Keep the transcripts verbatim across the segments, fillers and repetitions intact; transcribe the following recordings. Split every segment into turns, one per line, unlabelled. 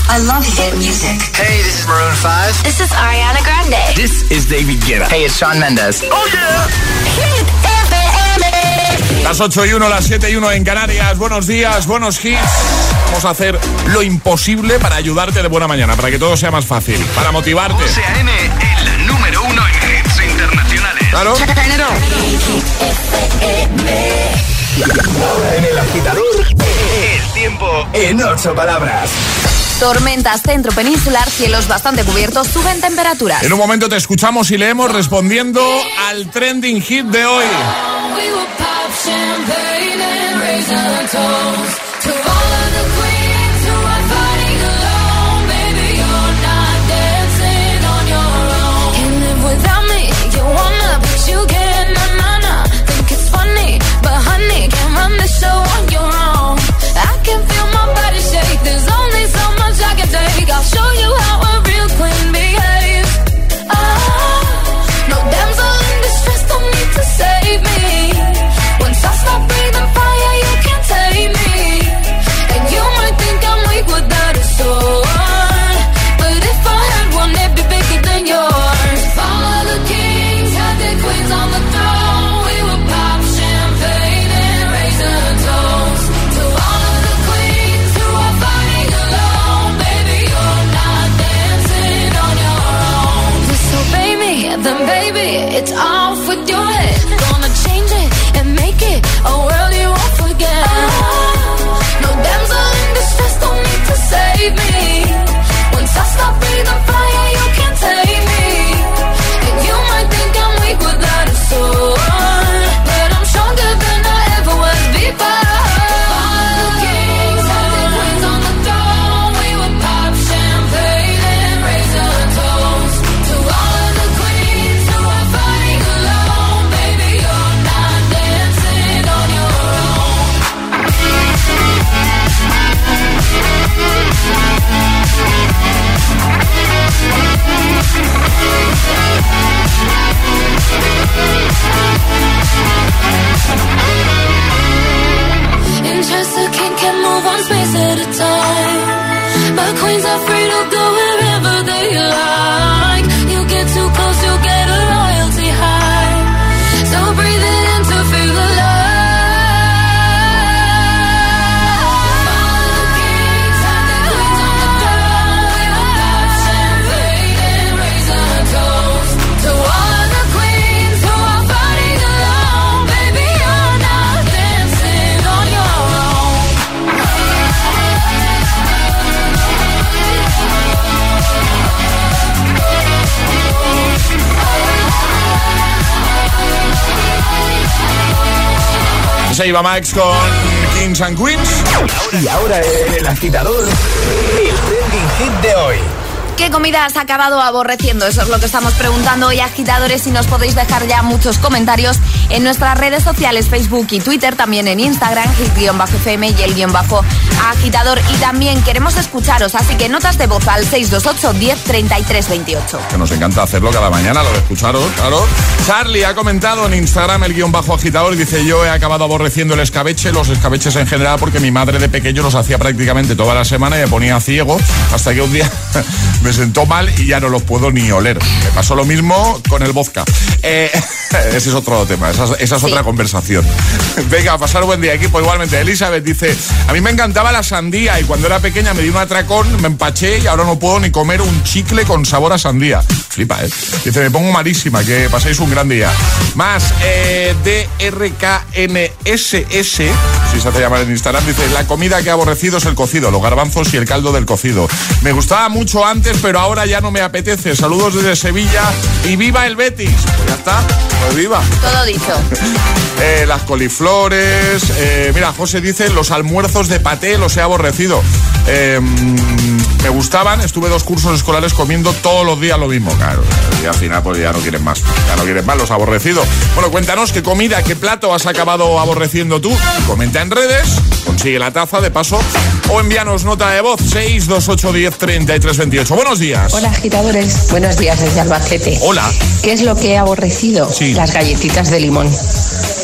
I love hit music.
Hey, this is Maroon five.
This is Ariana Grande.
This is David Guetta. Hey, it's Shawn Mendes.
Oh yeah. Hit F M.
Las ocho y uno, las siete y uno en Canarias. Buenos días, buenos hits. Vamos a hacer lo imposible para ayudarte de buena mañana, para que todo sea más fácil, para motivarte.
José A M, el número uno en hits internacionales.
Claro.
Ahora en El Agitador, el tiempo en ocho palabras.
Tormentas centro peninsular, cielos bastante cubiertos, suben temperaturas.
En un momento te escuchamos y leemos respondiendo al trending hit de hoy.
I'll show you how a real queen behaves. Oh, no damsel in distress, don't need to save me. Once I stop breathing fire, you can't take me. And you might think I'm weak without a sword, but if I had one, it'd be bigger than yours. Follow the kings, had their queens on the throne. We would pop champagne and raise a toast to all of the queens who are fighting alone. Baby, you're not dancing on your own. Disobey me, then baby, it's off with your head. Gonna change it and make it a world you won't forget. Oh, no damsel in distress, don't need to save me. Once I stop breathing fire, you can't take me. And you might think I'm weak without a sword, but I'm stronger than I ever was before. All the kings had their queens on the throne. We would pop champagne and raise a toast to all of the queens who are fighting alone. Baby, you're not dancing on your own. Interest a king can move one space at a time, but queens are free to go wherever they like. You get too close, you'll get a royalty high. So breathe it in to feel the love. All the kings have their queens on the throne. We will pop champagne and raise a toast to all of the queens who are fighting alone. Baby, you're not dancing on your own.
Se iba Max con Kings and Queens.
Y ahora en El Agitador, el trending hit de hoy.
¿Qué comida has acabado aborreciendo? Eso es lo que estamos preguntando hoy, agitadores, y nos podéis dejar ya muchos comentarios en nuestras redes sociales, Facebook y Twitter, también en Instagram, hit-F M y el guión bajo agitador. Y también queremos escucharos, así que notas de voz al seis dos ocho, diez, treinta y tres, veintiocho.
Que nos encanta hacerlo cada mañana, lo de escucharos, claro. Charlie ha comentado en Instagram el guión bajo agitador y dice: yo he acabado aborreciendo el escabeche, los escabeches en general, porque mi madre de pequeño los hacía prácticamente toda la semana y me ponía ciego, hasta que un día me sentó mal y ya no los puedo ni oler. Me pasó lo mismo con el vodka. Eh, ese es otro tema, esa, esa es sí. otra conversación. Venga, a pasar buen día, equipo. Igualmente, Elizabeth dice: a mí me encantaba la sandía y cuando era pequeña me di un atracón, me empaché y ahora no puedo ni comer un chicle con sabor a sandía. Flipa, ¿eh? Dice: me pongo malísima, que paséis un gran día. Más, eh, D R K N S S, si se hace llamar en Instagram, dice: la comida que he aborrecido es el cocido, los garbanzos y el caldo del cocido. Me gustaba mucho antes, pero ahora ya no me apetece. Saludos desde Sevilla y viva el Betis. Pues ya está, pues viva.
Todo dicho.
eh, las coliflores. Eh, mira, José dice: los almuerzos de paté los he aborrecido. Eh, me gustaban, estuve dos cursos escolares comiendo todos los días lo mismo. Claro, y al final pues ya no quieren más. Ya no quieren más los aborrecidos. Bueno, cuéntanos qué comida, qué plato has acabado aborreciendo tú. Comenta en redes, consigue la taza de paso o envíanos nota de voz seis dos ocho, diez, treinta y tres, veintiocho. Buenos días.
Hola, agitadores. Buenos días desde Albacete.
Hola.
¿Qué es lo que he aborrecido?
Sí.
Las galletitas de limón.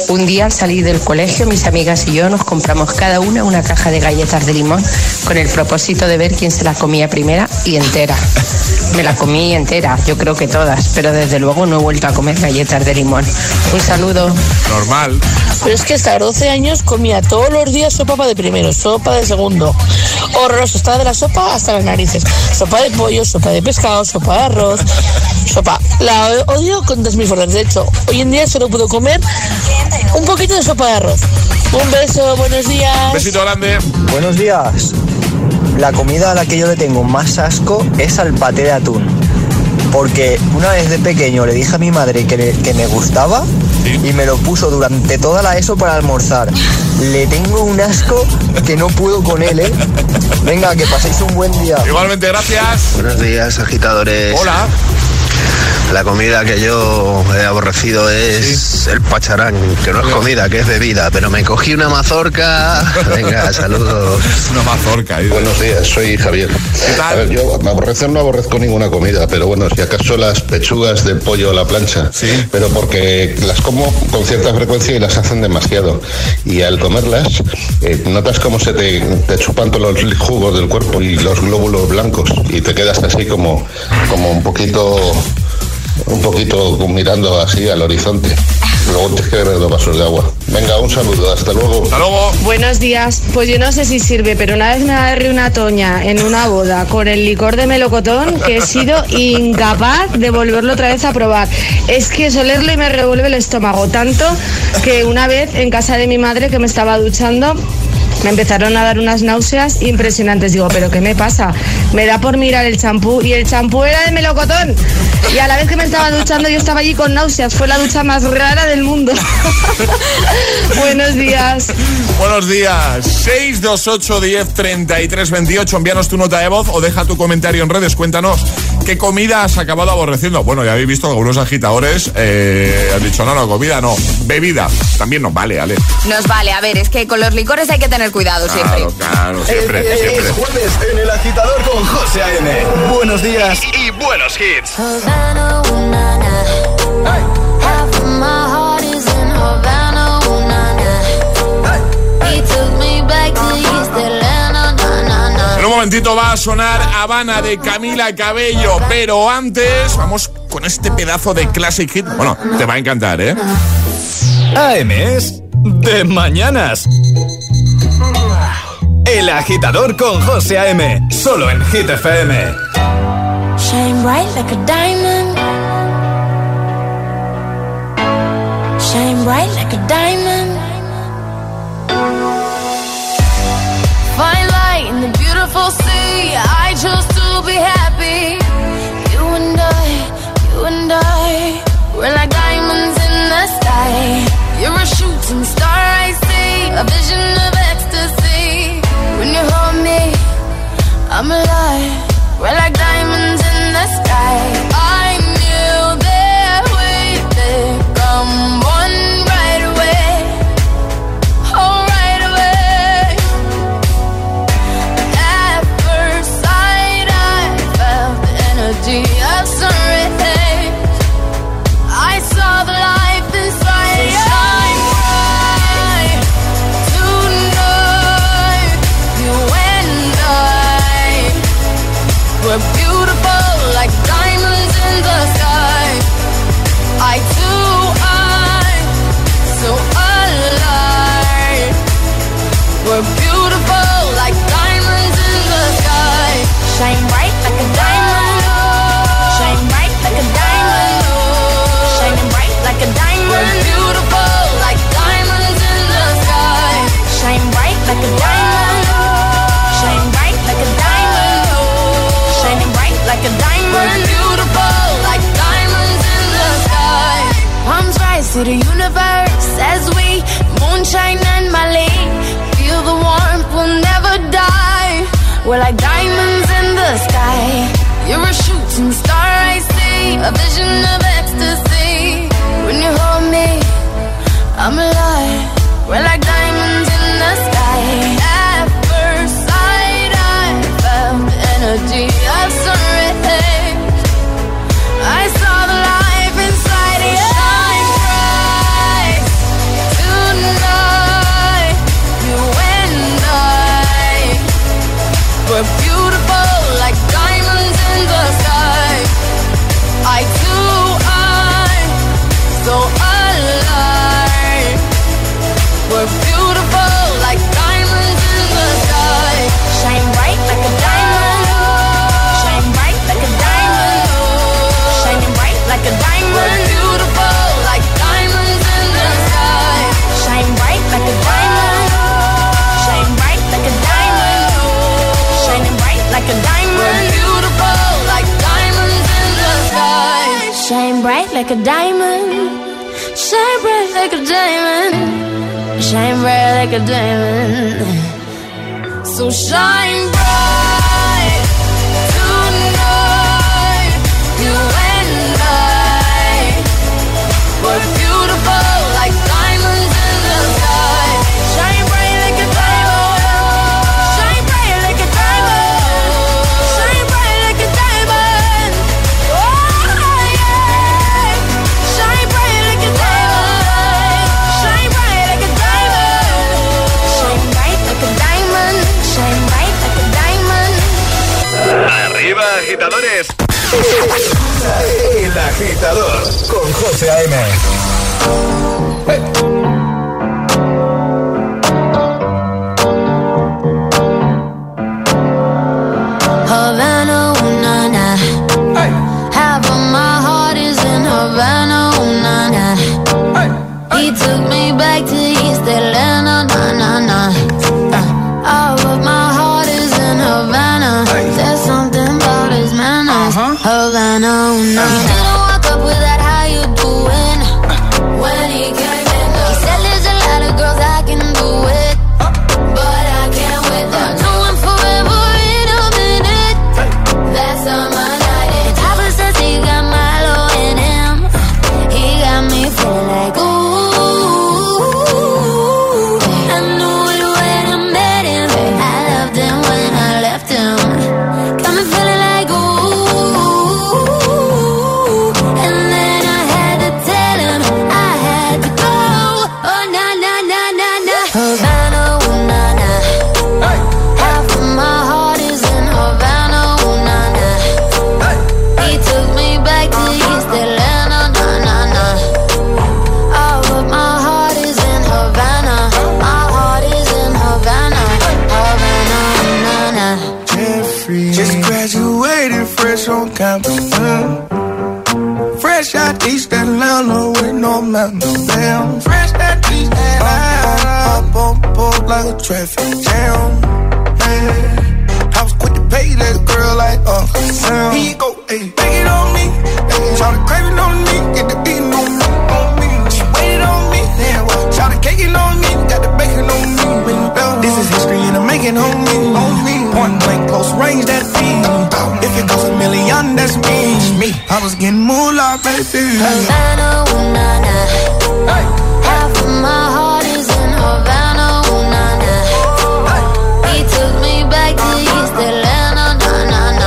Un día al salir del colegio, mis amigas y yo nos compramos cada una una caja de galletas de limón con el propósito de ver quién se las comía primera y entera. Me las comí entera, yo creo que todas, pero desde luego no he vuelto a comer galletas de limón. Un saludo.
Normal.
Pero es que hasta los doce años comía todos los días sopa de primero, sopa de segundo. Horroroso, estaba de la sopa hasta las narices. Sopa de pollo, sopa de pescado, sopa de arroz, sopa. La odio con todas mis fuerzas. De hecho, hoy en día solo puedo comer un poquito de sopa de arroz. Un beso, buenos días.
Besito grande.
Buenos días. La comida a la que yo le tengo más asco es al paté de atún. Porque una vez de pequeño le dije a mi madre que, le, que me gustaba, ¿sí?, y me lo puso durante toda la ESO para almorzar. Le tengo un asco que no puedo con él, ¿eh? Venga, que paséis un buen día.
Igualmente, gracias.
Buenos días, agitadores.
Hola.
La comida que yo he aborrecido es sí. el pacharán, que no es comida, que es bebida, pero me cogí una mazorca. Venga, saludos.
Una mazorca. ¿eh?
Buenos días, soy Javier.
¿Qué tal?
A ver, yo aborrecer no aborrezco ninguna comida, pero bueno, si acaso las pechugas de pollo a la plancha,
sí,
pero porque las como con cierta frecuencia y las hacen demasiado. Y al comerlas, eh, notas cómo se te, te chupan todos los jugos del cuerpo y los glóbulos blancos y te quedas así como, como un poquito... un poquito mirando así al horizonte. Luego tienes que beber dos vasos de agua. Venga, un saludo, hasta luego.
Hasta luego.
Buenos días. Pues yo no sé si sirve, pero una vez me agarré una toña en una boda con el licor de melocotón que he sido incapaz de volverlo otra vez a probar. Es que es olerlo y me revuelve el estómago, tanto que una vez en casa de mi madre, que me estaba duchando, me empezaron a dar unas náuseas impresionantes. Digo, ¿pero qué me pasa? Me da por mirar el champú y el champú era de melocotón. Y a la vez que me estaba duchando yo estaba allí con náuseas. Fue la ducha más rara del mundo. Buenos días.
Buenos días. seis dos ocho diez treinta y tres veintiocho. Envíanos tu nota de voz o deja tu comentario en redes. Cuéntanos qué comida has acabado aborreciendo. Bueno, ya habéis visto que algunos agitadores eh, han dicho, no, no, comida no, bebida. También nos vale, Ale.
Nos vale. A ver, es que con los licores hay que tener cuidado siempre.
Claro, claro, siempre,
es,
siempre.
Es jueves en El Agitador con José A M. Buenos días
y, y buenos hits.
Havana, ooh, na, na. Hey. Half of my heart is in Havana, ooh, na, na. Hey. He took me back to East Atlanta, na, na, na.
En un momentito va a sonar Habana de Camila Cabello, pero antes vamos con este pedazo de classic hit. Bueno, te va a encantar, ¿eh?
A M es de mañanas. El Agitador con José A M, solo en Hit F M.
Shine bright like a diamond. Shine bright like a diamond. Fine light in the beautiful sea. I chose to be happy. You and I, you and I, we're like diamonds in the sky. You're a shooting star, I see, a vision of ecstasy. When you hold me, I'm alive. We're like diamonds in the sky. I knew that we'd become one right away. Oh, right away. At first sight, I felt the energy of sun rays. I saw the life inside you. Shine bright tonight. You and I, we're beautiful like diamonds in the sky. I too, I'm so alive. We're beautiful like diamonds in the sky. Shine bright like a diamond. Shine bright like a diamond. Shining bright like a diamond. We're beautiful like diamonds in the sky. Shine bright like a diamond. Shine bright like a diamond. Shining bright like a diamond. We're beautiful like diamonds in the sky. Palms rise to the universe as we moonshine and Mali. Feel the warmth, we'll never die. We're like diamonds in the sky. You're a shooting star, I see, a vision of ecstasy. When you hold me, I'm alive. We're like diamonds in the sky. At first sight, I felt the energy of sun rays. I saw the life inside you. Shine bright in the sky. Eye to eye, so alive. We're beautiful like diamonds in the sky. Shine bright like a diamond. Shine bright like a diamond. Shining bright like a diamond. We're beautiful like diamonds in the sky. Shine bright like a diamond. Shine bright like a diamond. Shining bright like a diamond. We're beautiful like diamonds in the sky. Shine bright like a diamond. Shine bright like a diamond. Shine bright like a diamond. So shine bright tonight. You and I, we're beautiful like diamonds in the sky. Shine bright like a diamond. Shine bright like a diamond. Shine bright like a diamond. Oh yeah. Shine bright like a diamond. Shine bright like a diamond. Shine bright like a diamond. Shine bright like a diamond.
Arriba, agitadores.
El Agitador con José A M. Hey.
Havana, ooh, na, na. Hey. Half of my heart is in Havana, ooh, na, na. Hey. Hey. He took me back to East Atlanta, na, na, na. Uh, all of my heart is in Havana. Hey. There's something about his manners. Uh-huh. Havana, ooh, na, na. He didn't walk up with that, how you doing? When he came in, he said there's a lot of girls I can do it, but I can't wait. They'll do him forever in a minute. That's on my night. And Papa says he got Milo in him. He got me feeling like ooh. I knew it when I met him. I loved him when I left him. Got me feeling like ooh. And then I had to tell him I had to go. Oh na na na na na. Havana, ooh na na. Half of my heart is in Havana, ooh na na. He took me back to East Atlanta, na na na. All of my heart is in Havana. My heart is in Havana, Havana, ooh na na.
Jeffrey, just graduated fresh on campus. Mm. Fresh out East Atlanta with no mountains down. Fresh out East Atlanta, up on board like a traffic jam. Man, I was quick to pay that girl like Uncle Sam. He go, hey, take it on me. Hey, shout the craving on me, get the beating on me, on me. She waited on me, damn, well, shout the caking on me, got the bacon on me. This is history and I'm making on me, on me. Point blank, close range, that feed. If it goes a million, that's me. me. I was getting moolah, baby.
Havana, ooh na na. Hey. Half of my heart is in Havana, ooh na na. Hey. He took me back to East Atlanta, na na na.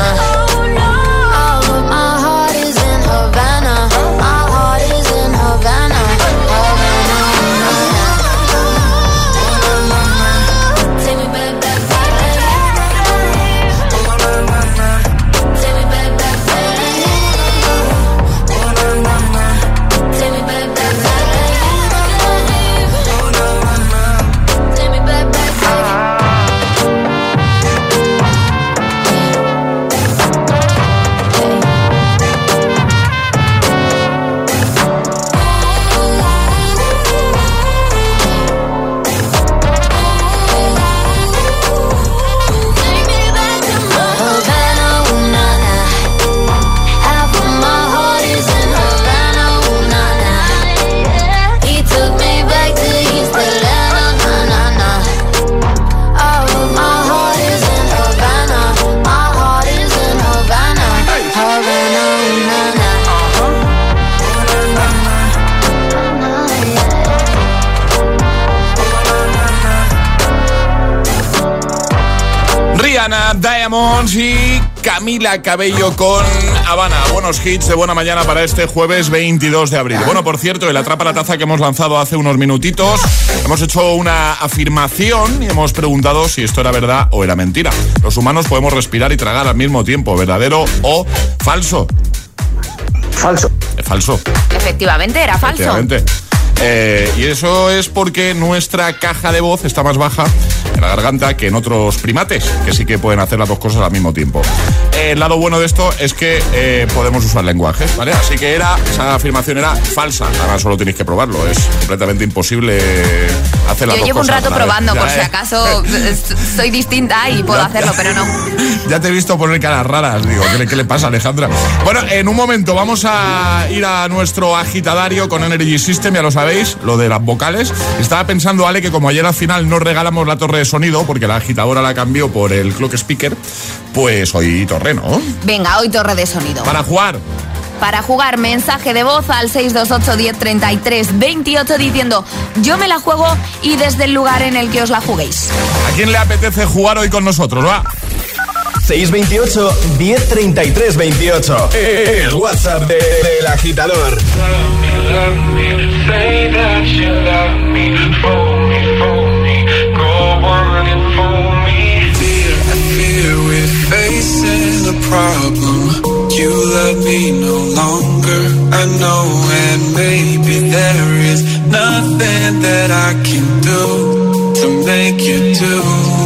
All of my heart is in Havana. My heart is in Havana, Havana, ooh na na. Take me back, back, back. Take me back, back, back. Take me back, back, back.
Diamonds y Camila Cabello con Habana. Buenos hits de buena mañana para este jueves veintidós de abril. Bueno, por cierto, el Atrapa la Taza que hemos lanzado hace unos minutitos, hemos hecho una afirmación y hemos preguntado si esto era verdad o era mentira. Los humanos podemos respirar y tragar al mismo tiempo, ¿verdadero o falso?
Falso.
Es falso.
Efectivamente, era falso.
Efectivamente. Eh, y eso es porque nuestra caja de voz está más baja en la garganta que en otros primates, que sí que pueden hacer las dos cosas al mismo tiempo. Eh, el lado bueno de esto es que eh, podemos usar lenguajes, ¿vale? Así que era, esa afirmación era falsa. Ahora solo tenéis que probarlo. Es completamente imposible hacer las
Yo
dos
llevo un
cosas.
rato probando,
ya,
por
eh.
si acaso soy distinta y puedo
ya,
hacerlo,
ya.
pero no.
Ya te he visto poner caras raras. Digo, ¿qué le, qué le pasa, Alejandra? Bueno, en un momento vamos a ir a nuestro agitadario con Energy System, ya lo sabéis, lo de las vocales. Estaba pensando, Ale, que como ayer al final no regalamos la torre de sonido, porque la agitadora la cambió por el clock speaker, pues hoy torre, ¿no?
Venga, hoy torre de sonido.
Para jugar.
Para jugar, mensaje de voz al seis dos ocho, diez, treinta y tres, veintiocho diciendo yo me la juego y desde el lugar en el que os la juguéis.
¿A quién le apetece jugar hoy con nosotros? Va.
seis veintiocho, diez, treinta y tres, veintiocho. El WhatsApp de, de El Agitador.
You love me no longer, I know, and maybe there is nothing that I can do to make you do.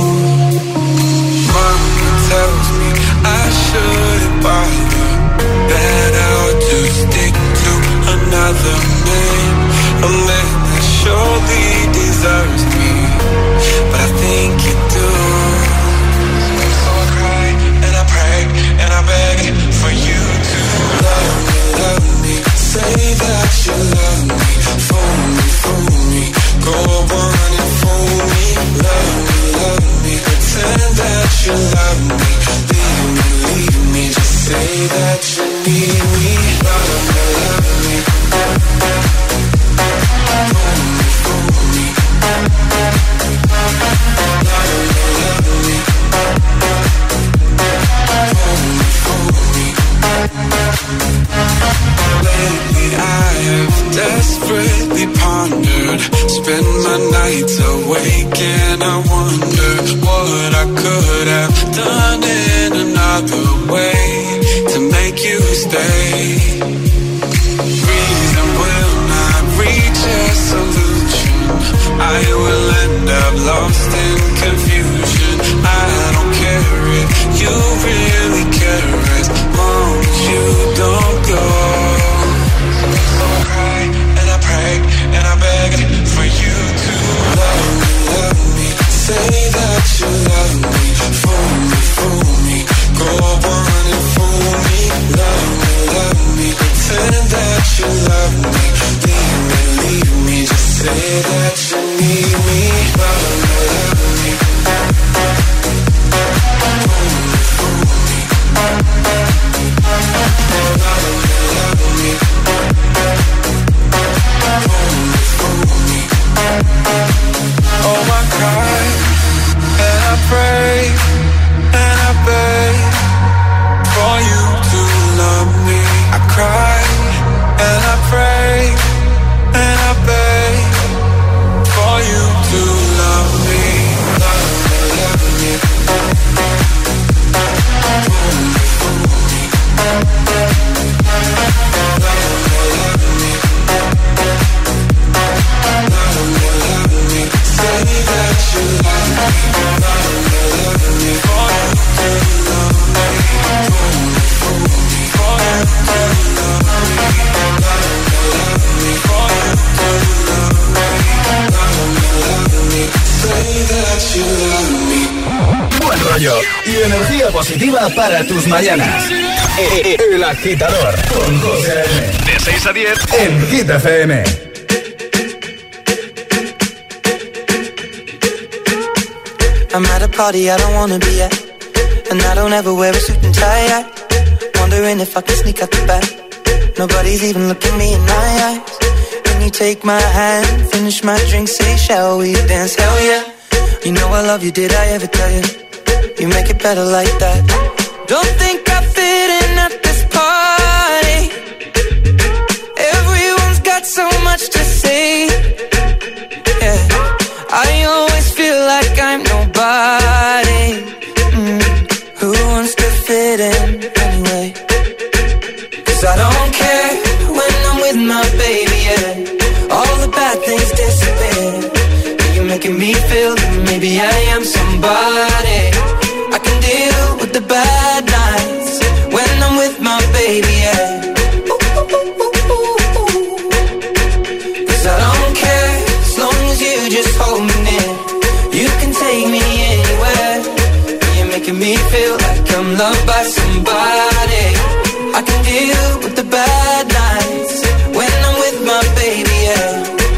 Mama tells me I shouldn't bother, that I'll just stick to another man, a man that surely deserves me, but I think you do. So I cry and I pray and I beg for you to love me, love me, say that you love me, fool me, fool me, go on and fool me, love me, love me, pretend that you love me, leave me, leave me, just say that you need me, love me, love me, fool me, fool me, love me, love me, fool me, lately I have desperately pondered, spend my nights awake and I wonder what I could have done in another way to make you stay. Reason will not reach a solution, I will end up lost in confusion. I don't care if you really care as long as you don't go. So I cry and I pray and I beg for you to love me, love me, say that you love me, fool me, fool me, go on and fool me, love me, love me, pretend that you love me, leave me, leave me, just say that you need me, love me, love me, fool me, fool me, love me, love me, fool me, fool me. Oh, I cry and I pray and I beg for you to love me. I cry and I pray and I beg for you to love me. Love me, love me, fool me, fool me, love me, love me, love me, love me, say that you love me, love me, love me, for you to love me, fool me, fool me, for you to love me, love me, love me, for you to love me, love me, love me, say that you love me.
Buen rollo y energía positiva para tus mañanas. El Agitador con José M.
De seis a diez
en Hit F M.
I'm at a party I don't wanna be at, and I don't ever wear a suit and tie. I wondering if I can sneak out the back. Nobody's even looking me in my eyes. Can you take my hand, finish my drink, say shall we dance? Hell yeah. You know I love you, did I ever tell you? You make it better like that. Don't think I fit in at this party. Everyone's got so much to say. Yeah, I always feel like I'm nobody. Mm. Who wants to fit in anyway? 'Cause I don't care when I'm with my baby, yeah. All the bad things disappear. You're making me feel that maybe I am somebody. I can deal with the bad nights when I'm with my baby, yeah. 'Cause I don't care as long as you just hold me near. You can take me anywhere. You're making me feel like I'm loved by somebody. I can deal with the bad nights when I'm with my baby, yeah.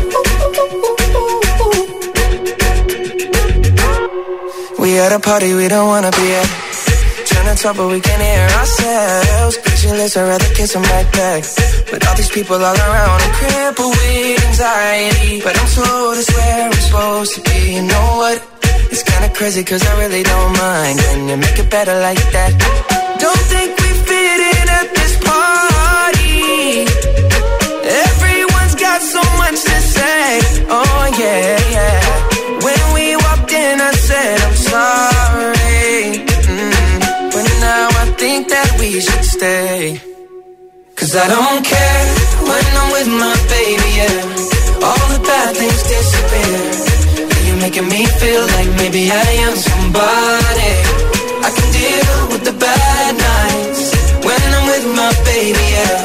We at a party we don't wanna be at. Trying to talk but we can't hear ourselves. Pictureless, I'd rather kiss them right back. With all these people all around, I'm crippled with anxiety. But I'm told it's where I'm supposed to be. You know what? It's kinda crazy 'cause I really don't mind. Can you make it better like that? Don't think we fit in at this party. Everyone's got so much to say. Oh yeah, yeah. When we walked in I said I'm sorry. Mm. But now I think that we should stay. 'Cause I don't care when I'm with my baby, yeah. All the bad things disappear. You're making me feel like maybe I am somebody. I can deal with the bad nights when I'm with my baby, yeah.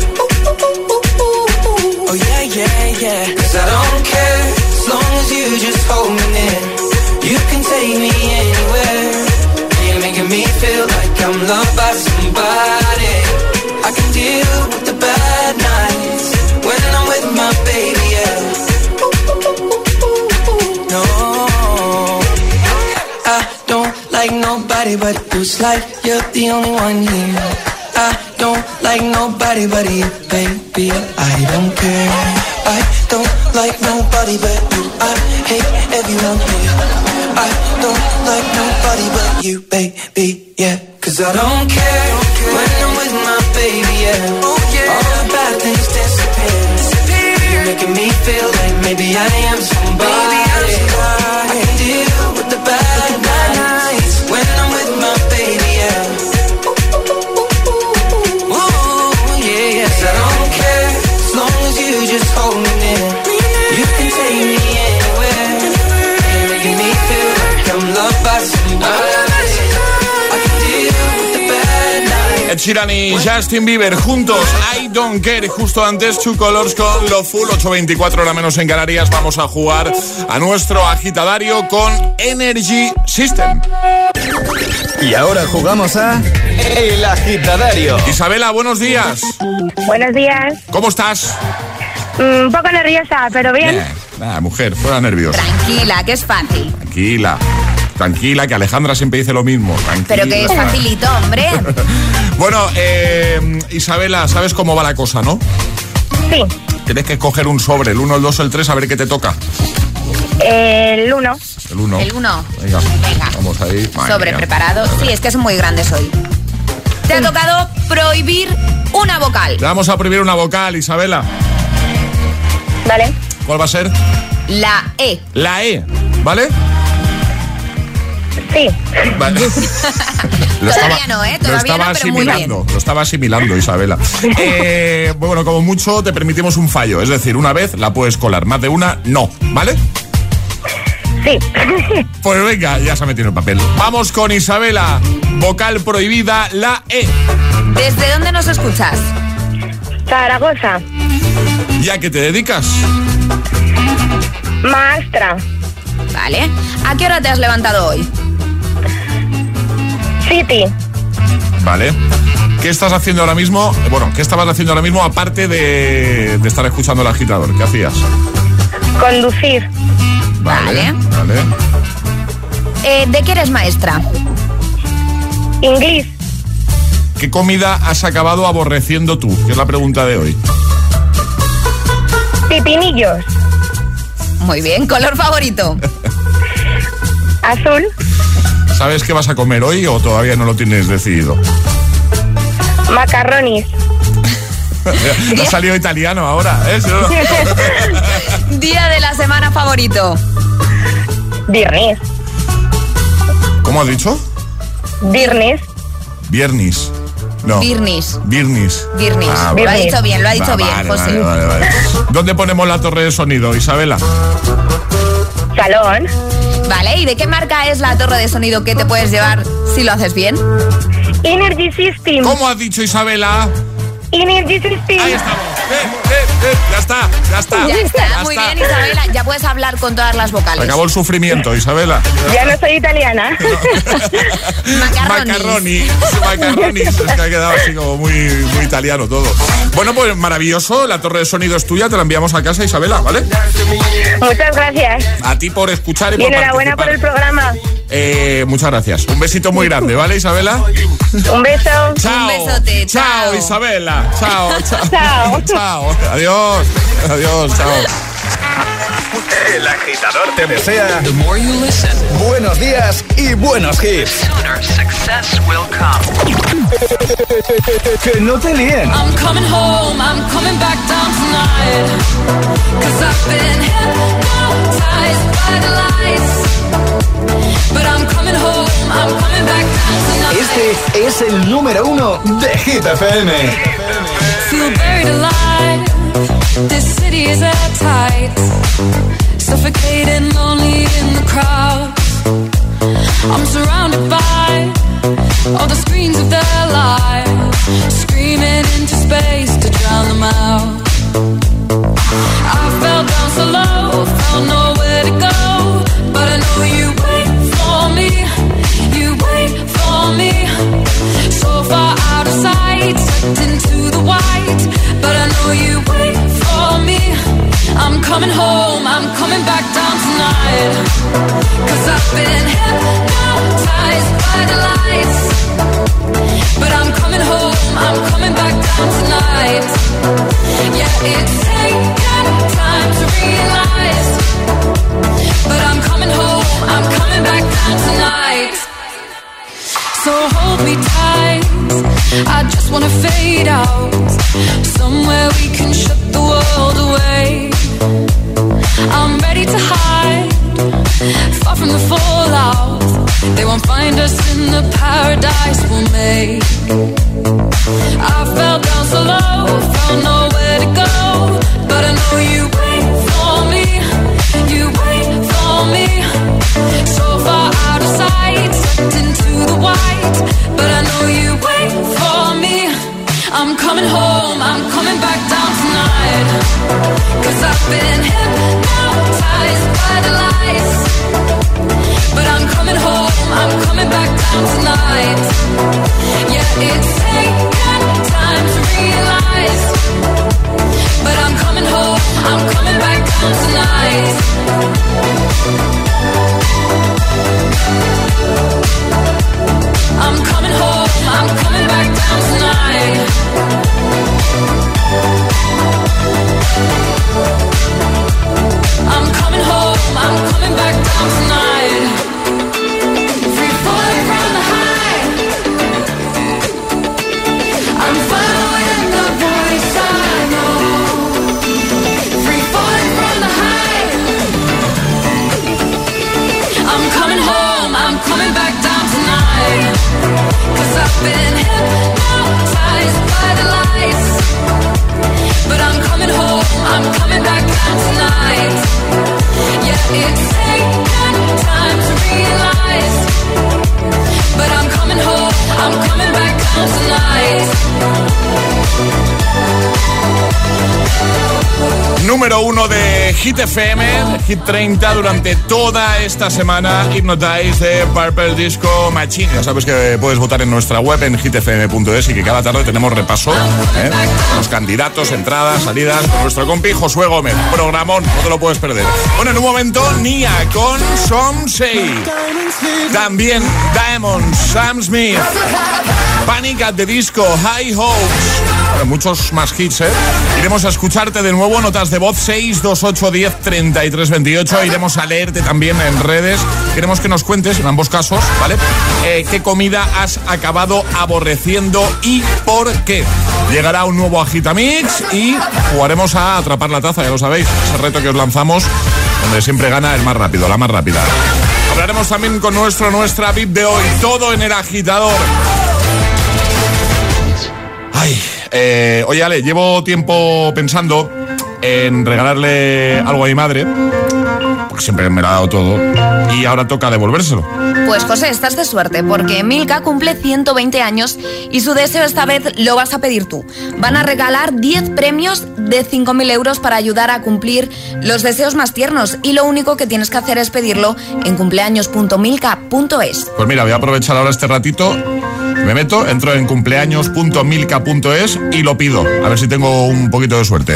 Oh yeah, yeah, yeah. 'Cause I don't care as long as you just hold me near. You can take me anywhere. You're making me feel like I'm loved by somebody. I can deal with the bad nights when I'm with my baby, yeah. No, I don't like nobody but you. It's like you're the only one here. I don't like nobody but you, baby. I don't care. I don't like nobody but you. I hate everyone here. I don't like nobody but you, baby, yeah. 'Cause I don't care when I'm with my baby, yeah. Oh, yeah. All the bad things disappear. disappear. You're making me feel like maybe I am somebody. Maybe I'm somebody. I can deal with the bad, with the bad nights when I'm with my baby, yeah. Ooh, yeah, yeah. 'Cause I don't care as long as you just hold me near. You can take me anywhere. You're making me feel like I'm loved by somebody.
Ed Sheeran y Justin Bieber juntos, I Don't Care. Justo antes, Two Colors con Lo Full, ocho veinticuatro hora menos en Canarias. Vamos a jugar a nuestro agitadario con Energy System.
Y ahora jugamos a El Agitadario.
Isabela, buenos días.
Buenos días.
¿Cómo estás?
Mm, un poco nerviosa, pero bien.
Bien. Nada, mujer, fuera nerviosa.
Tranquila, que es fácil.
Tranquila. Tranquila, que Alejandra siempre dice lo mismo. Tranquila.
Pero que es facilito, hombre.
Bueno, eh, Isabela, ¿sabes cómo va la cosa, no?
Sí.
Tienes que escoger un sobre, el uno, el dos, el tres, a ver qué te toca.
El uno.
El uno.
El uno.
Venga,
Venga.
Vamos ahí. Madre
Sobre
mía.
preparado. Sí, es que son muy grandes hoy. Te ha tocado prohibir una vocal.
Le vamos a prohibir una vocal, Isabela.
Vale.
¿Cuál va a ser?
La E.
La E, ¿vale?
Sí.
Vale.
Todavía
estaba,
no, ¿eh?
Lo
Todavía
estaba
no, pero muy
asimilando, lo estaba asimilando, Isabela. Eh, bueno, como mucho te permitimos un fallo, es decir, una vez la puedes colar, más de una, no, ¿vale?
Sí.
Pues venga, ya se ha metido en el papel. Vamos con Isabela, vocal prohibida, la E.
¿Desde dónde nos escuchas?
Zaragoza.
¿Y a qué te dedicas?
Maestra.
Vale. ¿A qué hora te has levantado hoy?
City.
Vale. ¿Qué estás haciendo ahora mismo? Bueno, ¿qué estabas haciendo ahora mismo aparte de, de estar escuchando el agitador? ¿Qué hacías?
Conducir.
Vale. Vale.
Eh, ¿De qué eres maestra?
Inglés.
¿Qué comida has acabado aborreciendo tú? Que es la pregunta de hoy.
Pipinillos.
Muy bien. ¿Color favorito?
Azul.
¿Sabes qué vas a comer hoy o todavía no lo tienes decidido?
Macarronis.
Ha salido italiano ahora, ¿eh?
Día de la semana favorito.
Viernes.
¿Cómo has dicho?
Viernes.
Viernes. No.
Viernes.
Viernes.
Viernes.
Ah,
lo
vale.
ha dicho bien, lo ha dicho
Va,
bien,
vale,
José.
Vale, vale, vale. ¿Dónde ponemos la torre de sonido, Isabela?
Salón.
Vale, ¿y de qué marca es la torre de sonido que te puedes llevar si lo haces bien?
Energy System.
¿Cómo has dicho, Isabela?
Energy System.
Ahí estamos. Eh, eh, eh, ya está, ya está.
Ya está,
Ya
muy
está.
bien, Isabela. Ya puedes hablar con todas las
Se
vocales.
acabó el sufrimiento, Isabela.
Ya no soy italiana.
Macarronis.
Macarronis. Macarronis. Es que ha quedado así como muy, muy italiano todo. Bueno, pues maravilloso. La torre de sonido es tuya. Te la enviamos a casa, Isabela, ¿vale?
Muchas gracias.
A ti por escuchar y,
Y
por
enhorabuena por
participar.
el programa.
Eh, muchas gracias. Un besito muy grande, ¿vale, Isabela?
Un beso.
Chao.
Un besote, chao.
Chao, Isabela. Chao, chao.
Chao.
Chao. Adiós. Adiós, chao.
El agitador te desea buenos días y buenos hits. Que no te líen.
I'm coming home, I'm coming back down tonight. Cause I've been hypnotized by the lights. But I'm coming home, I'm coming back down tonight.
Este es el número uno de Hit F M.
Feel buried alive. This city is airtight. Suffocating, lonely in the crowd. I'm surrounded by all the screens of their lives, screaming into space to drown them out. I fell down so low, found nowhere to go, but I know you wait for me, you wait for me. So far out of sight, sucked into the white, but I know you wait for me. I'm coming home, I'm coming back down tonight. Cause I've been hypnotized by the lights. But I'm coming home, I'm coming back down tonight. Yeah, it's taken time to realize. But I'm coming home, I'm coming back down tonight. So hold me tight, I just wanna fade out. Somewhere we can shut the world away. I'm ready to hide, far from the fallout. They won't find us in the paradise we'll make. I fell down so low, found nowhere to go, but I know you wait for me, you wait for me. So far out of sight, sucked into the white, but I know you wait for me. I'm coming home, I'm coming back down tonight. Cause I've been hypnotized by the lights. But I'm coming home, I'm coming back down tonight. Yeah, it's taken time to realize. But I'm coming home, I'm coming back down tonight. I'm coming home, I'm coming back down tonight. I'm coming home, I'm coming back down tonight. Free falling from the high. I'm following the voice I know. Free falling from the high. I'm coming home, I'm coming back down tonight. Cause I've been hypnotized by the lights. But I'm coming home, I'm coming back down tonight. Yeah, it's taken time to realize. But I'm coming home, I'm coming back down tonight.
Número uno de Hit F M, Hit treinta durante toda esta semana. Hypnotize de Purple Disco Machine. Ya sabes que puedes votar en nuestra web en hit f m punto es y que cada tarde tenemos repaso, ¿eh? Los candidatos, entradas, salidas con nuestro compi Josué Gómez. Programón, no te lo puedes perder. Bueno, en un momento Nia con Some Say. También Diamond, Sam Smith, Panic at the Disco, High Hopes. Bueno, muchos más hits, ¿eh? Iremos a escucharte de nuevo, notas de voz seis dos ocho uno cero treinta y tres veintiocho. Iremos a leerte también en redes. Queremos que nos cuentes, en ambos casos, ¿vale? Eh, ¿Qué comida has acabado aborreciendo y por qué? Llegará un nuevo Agitamix y jugaremos a atrapar la taza, ya lo sabéis. Ese reto que os lanzamos, donde siempre gana el más rápido, la más rápida. Hablaremos también con nuestro, nuestra V I P de hoy. Todo en el agitador. Ay, eh, oye Ale, llevo tiempo pensando en regalarle algo a mi madre, porque siempre me lo ha dado todo, y ahora toca devolvérselo.
Pues José, estás de suerte, porque Milka cumple ciento veinte años y su deseo esta vez lo vas a pedir tú. Van a regalar diez premios de cinco mil euros para ayudar a cumplir los deseos más tiernos, y lo único que tienes que hacer es pedirlo en cumpleaños punto milka punto es.
Pues mira, voy a aprovechar ahora este ratito, me meto, entro en cumpleaños punto milka punto es y lo pido, a ver si tengo un poquito de suerte.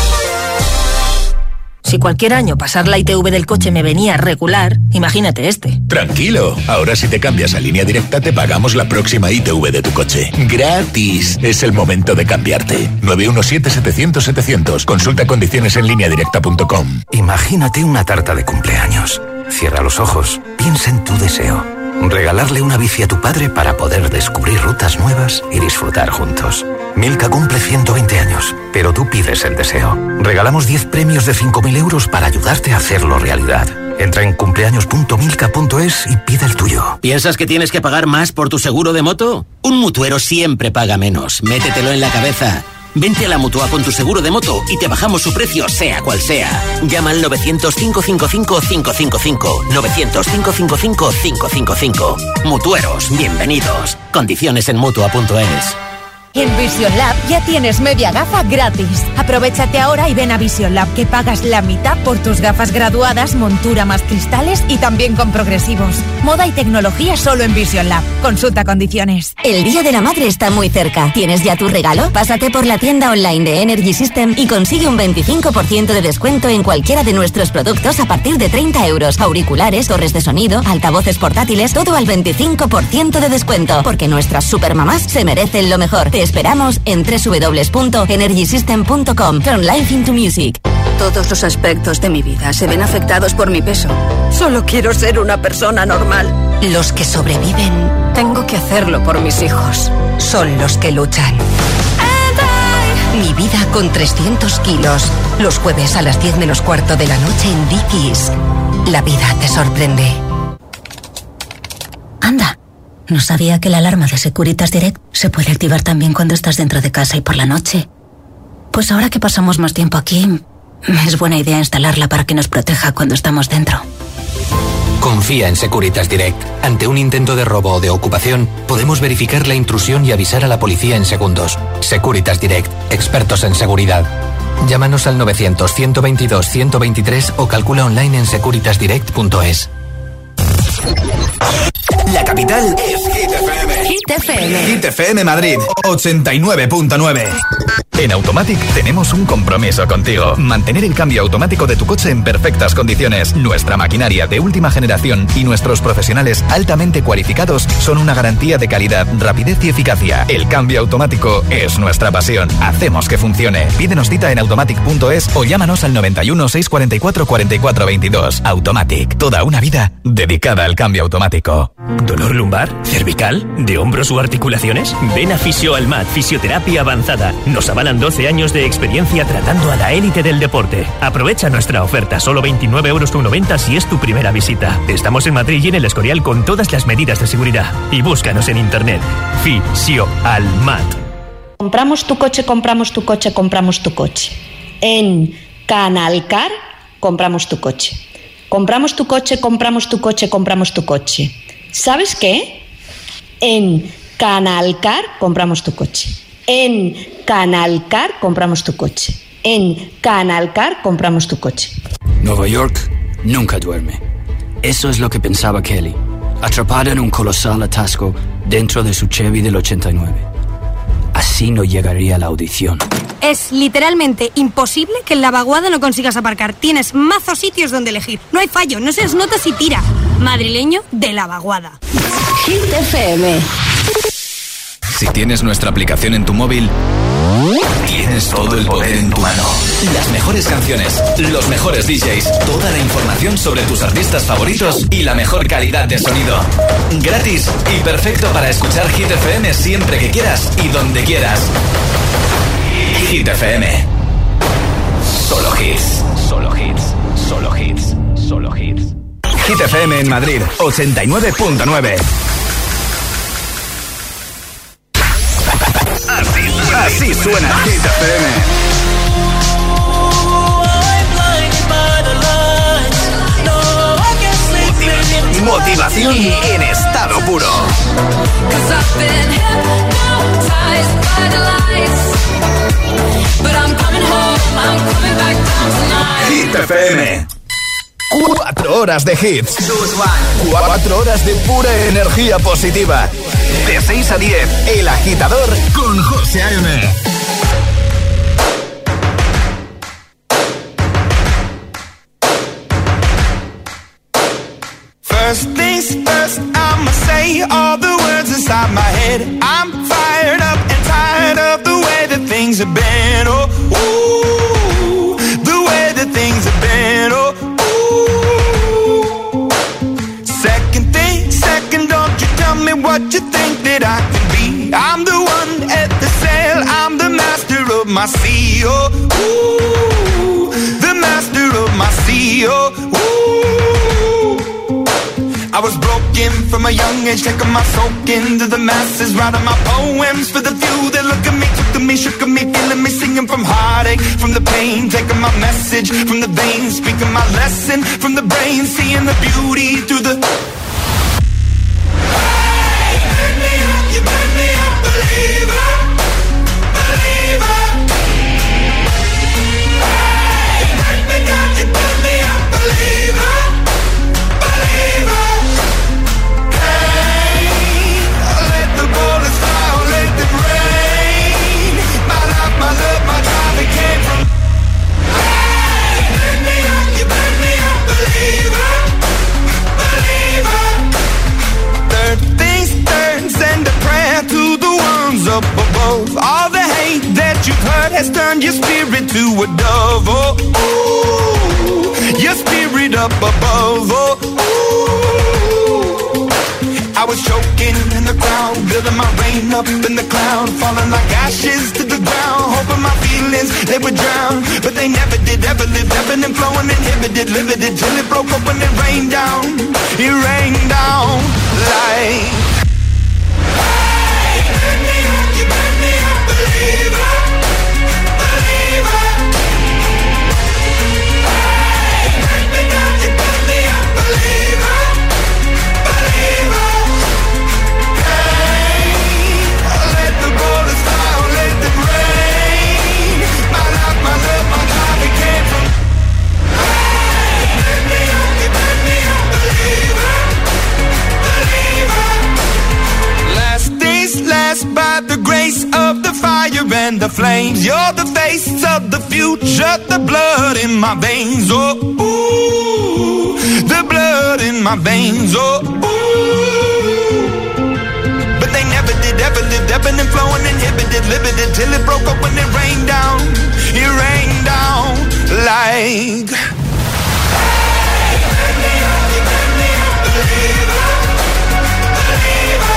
Si cualquier año pasar la I T V del coche me venía regular, imagínate este.
Tranquilo, ahora si te cambias a Línea Directa te pagamos la próxima I T V de tu coche. ¡Gratis! Es el momento de cambiarte. nueve uno siete, setecientos, setecientos. Consulta condiciones en línea directa punto com.
Imagínate una tarta de cumpleaños. Cierra los ojos, piensa en tu deseo. Regalarle una bici a tu padre para poder descubrir rutas nuevas y disfrutar juntos. Milka cumple ciento veinte años, pero tú pides el deseo. Regalamos diez premios de cinco mil euros para ayudarte a hacerlo realidad. Entra en cumpleaños punto milka punto es y pide el tuyo.
¿Piensas que tienes que pagar más por tu seguro de moto? Un mutuero siempre paga menos. Métetelo en la cabeza. Vente a la Mutua con tu seguro de moto y te bajamos su precio, sea cual sea. Llama al novecientos, cinco cinco cinco, cinco cinco cinco. novecientos, cinco cinco cinco, cinco cinco cinco. Mutueros, bienvenidos. Condiciones en mutua punto es.
En Vision Lab ya tienes media gafa gratis. Aprovechate ahora y ven a Vision Lab, que pagas la mitad por tus gafas graduadas, montura más cristales y también con progresivos. Moda y tecnología solo en Vision Lab. Consulta condiciones.
El Día de la Madre está muy cerca. ¿Tienes ya tu regalo? Pásate por la tienda online de Energy System y consigue un veinticinco por ciento de descuento en cualquiera de nuestros productos a partir de treinta euros. Auriculares, torres de sonido, altavoces portátiles, todo al veinticinco por ciento de descuento. Porque nuestras supermamás se merecen lo mejor. Te esperamos en doble u doble u doble u punto energy system punto com. Turn life into music.
Todos los aspectos de mi vida se ven afectados por mi peso. Solo quiero ser una persona normal.
Los que sobreviven,
Tengo que hacerlo por mis hijos.
son los que luchan. Mi vida con trescientos kilos. Los jueves a las diez menos cuarto de la noche en Dickies. La vida te sorprende.
Anda, no sabía que la alarma de Securitas Direct se puede activar también cuando estás dentro de casa y por la noche. Pues ahora que pasamos más tiempo aquí, es buena idea instalarla para que nos proteja cuando estamos dentro.
Confía en Securitas Direct. Ante un intento de robo o de ocupación, podemos verificar la intrusión y avisar a la policía en segundos. Securitas Direct, expertos en seguridad. Llámanos al novecientos, ciento veintidós, ciento veintitrés o calcula online en securitas direct punto es.
La capital es Hit F M.
Hit F M.
Hit F M Madrid, ochenta y nueve punto nueve.
En Automatic tenemos un compromiso contigo. Mantener el cambio automático de tu coche en perfectas condiciones. Nuestra maquinaria de última generación y nuestros profesionales altamente cualificados son una garantía de calidad, rapidez y eficacia. El cambio automático es nuestra pasión. Hacemos que funcione. Pídenos cita en automatic punto es o llámanos al noventa y uno, seiscientos cuarenta y cuatro, cuarenta y cuatro veintidós. Automatic. Toda una vida dedicada al cambio automático.
¿Dolor lumbar? ¿Cervical? ¿De hombros u articulaciones? Ven a Fisio Almat, fisioterapia avanzada. Nos avalan doce años de experiencia tratando a la élite del deporte. Aprovecha nuestra oferta, solo veintinueve euros con noventa si es tu primera visita. Estamos en Madrid y en el Escorial con todas las medidas de seguridad. Y búscanos en internet. Fisio Almat.
Compramos tu coche, compramos tu coche, compramos tu coche. En Canalcar, compramos tu coche. Compramos tu coche, compramos tu coche, compramos tu coche. ¿Sabes qué? En Canalcar compramos tu coche. En Canalcar compramos tu coche. En Canalcar compramos tu coche.
Nueva York nunca duerme. Eso es lo que pensaba Kelly, atrapada en un colosal atasco dentro de su Chevy del ochenta y nueve. Así no llegaría a la audición.
Es literalmente imposible que en la vaguada no consigas aparcar. Tienes mazos sitios donde elegir. No hay fallo, no seas nota si tira. Madrileño de la vaguada.
Hit F M.
Si tienes nuestra aplicación en tu móvil, tienes todo el poder en tu mano. Las mejores canciones, los mejores D Js, toda la información sobre tus artistas favoritos y la mejor calidad de sonido. Gratis y perfecto para escuchar Hit F M siempre que quieras y donde quieras. Hit F M. Solo hits. Solo hits. Solo hits. Solo hits. Hit F M en Madrid, ochenta y nueve punto nueve. Así, así suena Hit F M. Motivación en estado puro. Hit F M. Cuatro horas de hits. Cuatro horas de pura energía positiva. De seis a diez, El Agitador con José A M.
First things first, I'ma say all the words inside my head. I'm fired up and tired of the way that things have been. Oh, ooh, the way that things have been. Oh, ooh. Second thing, second, don't you tell me what you think that I can be. I'm the one at the sail, I'm the master of my sea. Oh, ooh, the master of my sea. Oh, ooh. I was broken from a young age, taking my soak into the masses, writing my poems for the few that look at me, took to me, shook at me, feeling me, singing from heartache, from the pain, taking my message from the veins, speaking my lesson from the brain, seeing the beauty through the... Hey, you burn me up, you burn me up, believer, believer. Hey, you burn me down, you burn me up, believer. My love, my drive, it came from. Hey, you burn me up, you burn me up, believer, believer. Third things third, send a prayer to the ones up above. All the hate that you've heard has turned your spirit to a dove. Oh, ooh, your spirit up above. Oh, ooh. I was choking in the crowd, building my rain up in the cloud, falling like ashes to the ground, hoping my feelings, they would drown, but they never did, ever lived, ebbing and flowing, inhibited, limited, till it broke open and rained down, it rained down like... Hey, you burn me up, you burn me up, believer, believer. Hey, you burn me down, you burn me up, believer, believer. By the grace of the fire and the flames, you're the face of the future, the blood in my veins. Oh, ooh, the blood in my veins. Oh, ooh. But they never did, ever lived, ebbing and flowing, inhibited, limited, till it broke up when it rained down. It rained down like. Hey, you burn me up, you burn me up, believer, believer.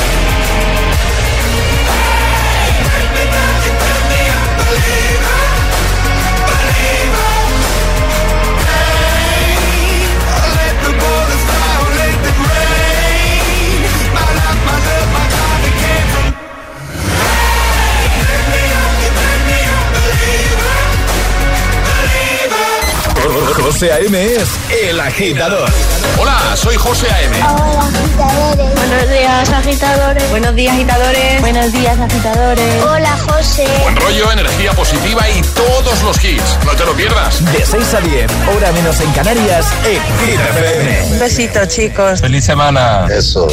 José A M es El Agitador.
Hola, soy José A M.
Hola, agitadores. Buenos días, agitadores.
Buenos días, agitadores.
Buenos días, agitadores. Hola, José.
Buen rollo, energía positiva y todos los hits. No te lo pierdas.
De seis a diez, hora menos en Canarias, en Hit F M.
Un besito, chicos.
Feliz semana.
Eso.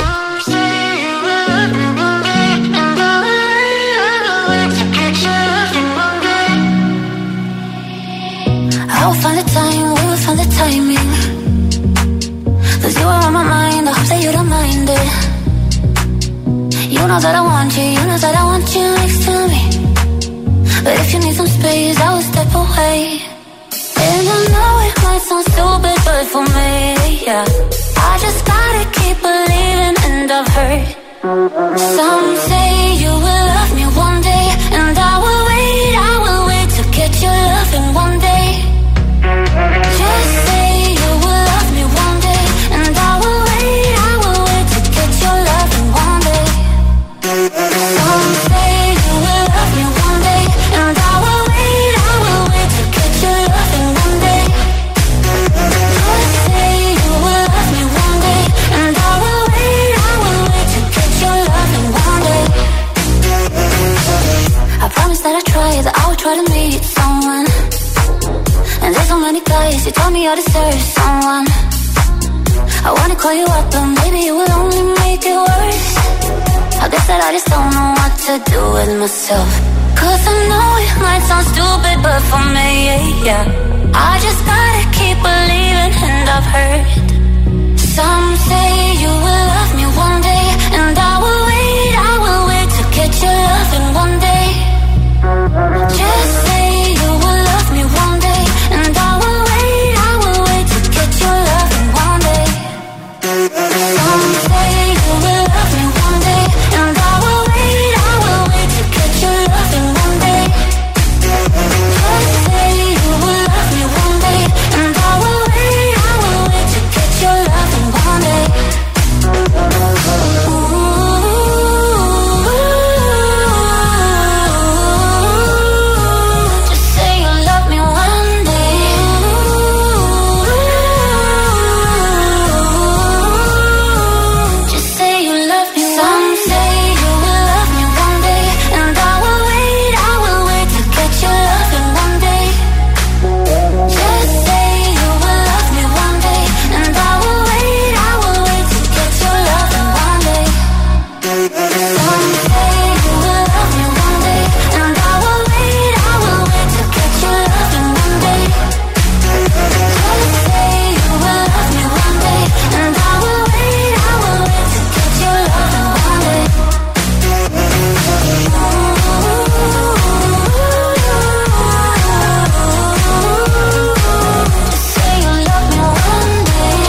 I'll find the time, we'll find the timing. Cause you are on my mind, I hope that you don't mind it. You know know that I want you, you know that I want you next to me. But if you need some space, I will step away. And I know it might sound stupid, but for me, yeah, I just gotta keep believing, and I've heard some say you will love me one day, and I will wait, I will wait to get your loving one day. Just say you will love me one day, and I will wait, I will wait to get your loving one day. Some say you will love me one day, and I will wait, I will wait to get your loving one day. Just say you will love me one day, and I will wait, I will wait to get your loving one day. I promise that I try, that I will try to meet someone. And there's so many guys who told me I deserve someone. I wanna call you up, but maybe it will only make it worse. I guess that I just don't know what to do with myself. Cause I know it might sound stupid, but for me, yeah, I just gotta keep believing, and I've heard some say you will love me one day, and I will wait, I will wait to get your loving one day. Just say you will love me one day, and I will wait, I will wait to get your loving one day. Some say you will love me one day, and I will wait, I will wait to get your loving one day. Just say you will love me one day, and I will wait, I will wait to get your loving one day. Ooh. Just say you love me one day. Just say you love me. Some say you will love me one day, and I will wait, I will wait to get your loving one day. Just say you will love me one day, and I will wait, I will wait to get your loving one day. Some say you will love me one day, and I will wait, I will wait to get your loving one day. Just say you will love me one day, and I will wait, I will wait to get your loving one day. Just say you love me one day.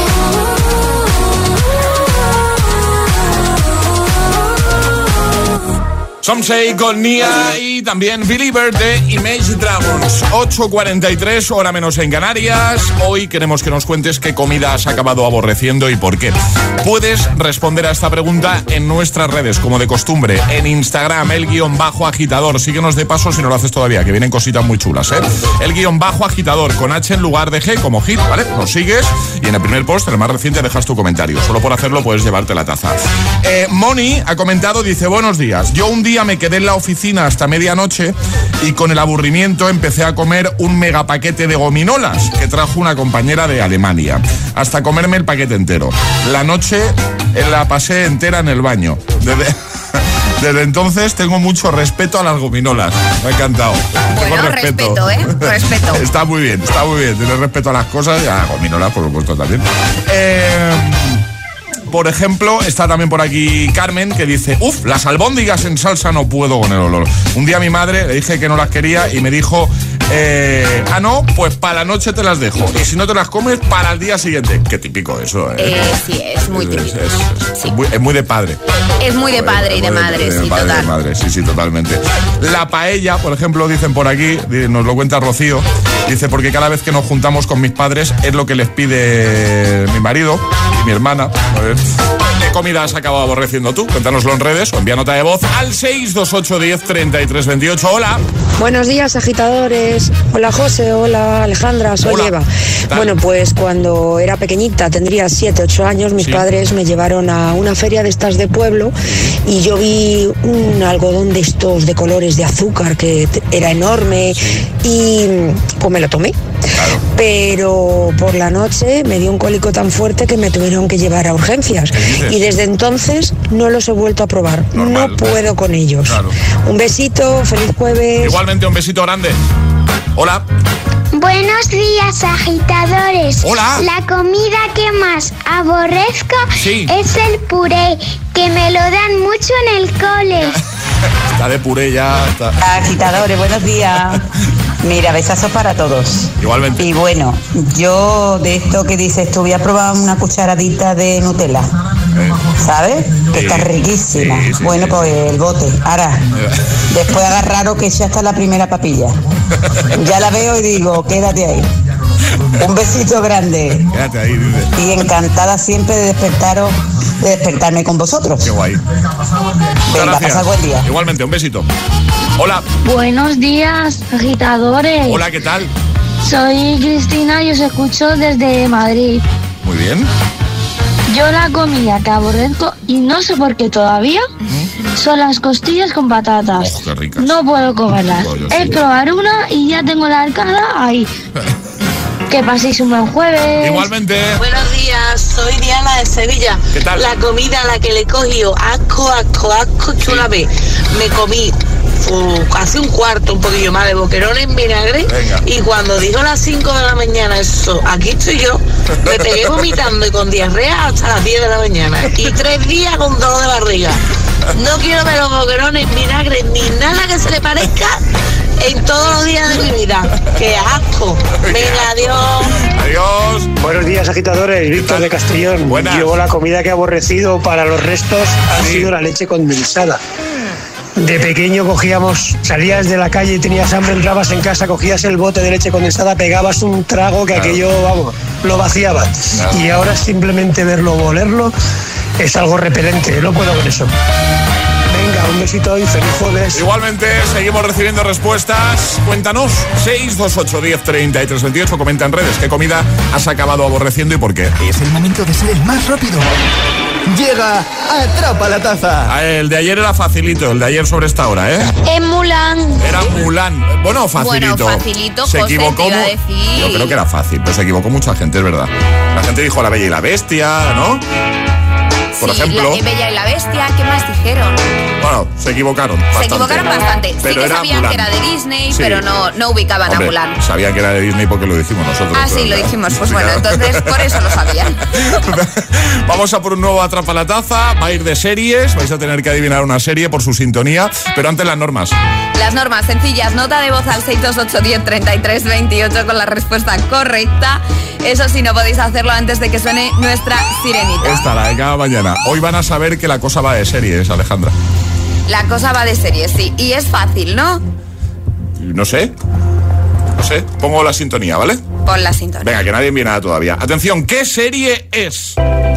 Some Say con Nia y también Believer de Image Dragons. ocho cuarenta y tres, hora menos en Canarias. Hoy queremos que nos cuentes qué comida has acabado aborreciendo y por qué. Puedes responder a esta pregunta en nuestras redes, como de costumbre. En Instagram, el guión bajo agitador. Síguenos de paso si no lo haces todavía, que vienen cositas muy chulas, ¿eh? El guión bajo agitador, con H en lugar de G, como hit, ¿vale? Nos sigues y en el primer post, el más reciente, dejas tu comentario. Solo por hacerlo puedes llevarte la taza. Eh, Moni ha comentado, dice, buenos días. Yo un día me quedé en la oficina hasta medianoche y con el aburrimiento empecé a comer un mega paquete de gominolas que trajo una compañera de Alemania, hasta comerme el paquete entero. La noche la pasé entera en el baño. Desde, desde entonces tengo mucho respeto a las gominolas. Me ha encantado.
Bueno,
tengo
respeto, ¿eh? Respeto.
Está muy bien, está muy bien. Tienes respeto a las cosas y a las gominolas, por supuesto, también. Eh... Por ejemplo, está también por aquí Carmen, que dice, uff, las albóndigas en salsa no puedo con el olor. Un día a mi madre le dije que no las quería y me dijo, eh, ah, no, pues para la noche te las dejo. Y si no te las comes, para el día siguiente. Qué típico eso, ¿eh?
eh sí, es muy típico.
Es, es, es, sí. muy, es muy de padre.
Es muy de padre y de madre, sí, total.
De madre, sí, sí, totalmente. La paella, por ejemplo, dicen por aquí, nos lo cuenta Rocío, dice, porque cada vez que nos juntamos con mis padres es lo que les pide mi marido y mi hermana. A ver, ¿qué comida has acabado aborreciendo tú? Cuéntanoslo en redes o envía nota de voz al seis dos ocho uno cero treinta y tres veintiocho. Hola.
Buenos días, agitadores. Hola, José. Hola, Alejandra. Soy
Hola.
Eva. Bueno, pues cuando era pequeñita, tendría siete, ocho años, mis
sí.
padres me llevaron a una feria de estas de pueblo y yo vi un algodón de estos de colores de azúcar que era enorme sí. y pues me lo tomé.
Claro.
Pero por la noche me dio un cólico tan fuerte que me tuvieron que llevar a urgencias. Y desde entonces no los he vuelto a probar. Normal. No puedo con ellos.
Claro.
Un besito, feliz jueves.
Igualmente, un besito grande. Hola.
Buenos días, agitadores.
Hola.
La comida que más aborrezco
sí.
es el puré, que me lo dan mucho en el cole.
Está de puré ya. Está.
Agitadores, buenos días. Mira, besazos para todos.
Igualmente.
Y bueno, yo de esto que dices tú, voy a probar una cucharadita de Nutella. Eh. ¿Sabes? Que sí. Está riquísima. Sí, sí, bueno, sí, pues sí. El bote. Ahora, después agarraros que ya está la primera papilla. Ya la veo y digo, quédate ahí. Un besito grande.
Quédate ahí, dice.
Y encantada siempre de despertaros, de despertarme con vosotros.
Qué guay.
Venga, pasad buen día.
Igualmente, un besito. Hola.
Buenos días, agitadores.
Hola, ¿qué tal?
Soy Cristina y os escucho desde Madrid.
Muy bien.
Yo la comida que aborrezco, y no sé por qué todavía, uh-huh. son las costillas con patatas.
Oh, qué ricas.
No puedo comerlas. Oh, es sí. probar una y ya tengo la arcada ahí. Que paséis un buen jueves.
Igualmente.
Buenos días, soy Diana de Sevilla.
¿Qué tal?
La comida a la que le he cogido asco, asco, asco, que sí. una vez me comí uh, casi un cuarto, un poquillo más de boquerón en vinagre.
Venga.
Y cuando dijo las cinco de la mañana eso, aquí estoy yo, me pegué vomitando y con diarrea hasta las diez de la mañana. Y tres días con dolor de barriga. No quiero ver los boquerones en vinagre ni nada que se le parezca en todos los días de mi vida. ¡Qué asco! Venga, adiós.
Adiós.
Buenos días, agitadores. Víctor de Castellón.
Buenas.
Yo la comida que he aborrecido para los restos ha sí. sido la leche condensada. De pequeño cogíamos, salías de la calle y tenías hambre, entrabas en casa, cogías el bote de leche condensada, pegabas un trago que claro. aquello, vamos, lo vaciabas. Claro. Y ahora simplemente verlo o olerlo es algo repelente, no puedo con eso. Venga, un besito y feliz jueves.
Igualmente, seguimos recibiendo respuestas. Cuéntanos, seis dos ocho, diez, treinta y tres veintiocho. Comenta en redes qué comida has acabado aborreciendo y por qué.
Es el momento de ser el más rápido. Llega Atrapa la Taza.
Ah, el de ayer era facilito, el de ayer sobre esta hora, ¿eh?
Es Mulan.
Era Mulan. Bueno, facilito.
Bueno, facilito,
se
José,
equivocó.
te iba a decir.
Yo creo que era fácil, pero se equivocó mucha gente, es verdad. La gente dijo La Bella y la Bestia, ¿no? Por
sí,
ejemplo.
La Bella y la Bestia, ¿qué más dijeron?
Bueno, se equivocaron bastante.
Se equivocaron bastante.
Pero
sí que
era
sabían
Mulan.
que era de Disney,
sí.
pero no, no ubicaban
Hombre,
a Mulan.
Sabían que era de Disney porque lo dijimos nosotros.
Ah, sí, lo
ya.
dijimos. Pues
sí,
bueno,
claro.
entonces por eso lo sabían.
Vamos a por un nuevo Atrapa la Taza. Va a ir de series. Vais a tener que adivinar una serie por su sintonía. Pero antes las normas.
Las normas sencillas. Nota de voz al seis dos ocho, diez, treinta y tres veintiocho con la respuesta correcta. Eso sí, no podéis hacerlo antes de que suene nuestra sirenita.
Esta, la de cada mañana. Hoy van a saber que la cosa va de series, Alejandra.
La cosa va de series, sí. Y es fácil, ¿no?
No sé. No sé. Pongo la sintonía, ¿vale?
Pon la sintonía.
Venga, que nadie envíe nada todavía. Atención, ¿qué serie es?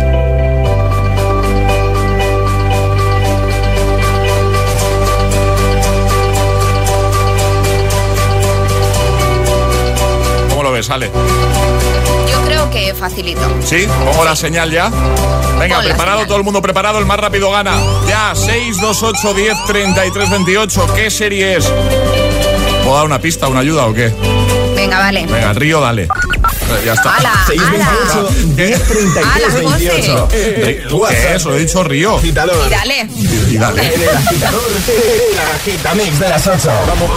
¿Cómo lo ves, Ale?
Yo creo que facilito.
¿Sí? ¿Pongo la señal ya? Venga,
Pon
preparado, todo el mundo preparado, el más rápido gana. Ya, seis dos ocho, diez, treinta y tres veintiocho. ¿Qué serie es? ¿Puedo dar una pista, una ayuda o qué?
Venga, vale.
Venga, Río, dale. Ya está.
¡Hala!
seis veintiocho, diez, treinta y tres veintiocho.
¿Qué es? Lo he dicho Río.
Agitador.
Y dale.
Y dale.
En el agitador, el agitamix de las ocho. Vamos.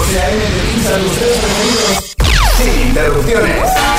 Sin interrupciones.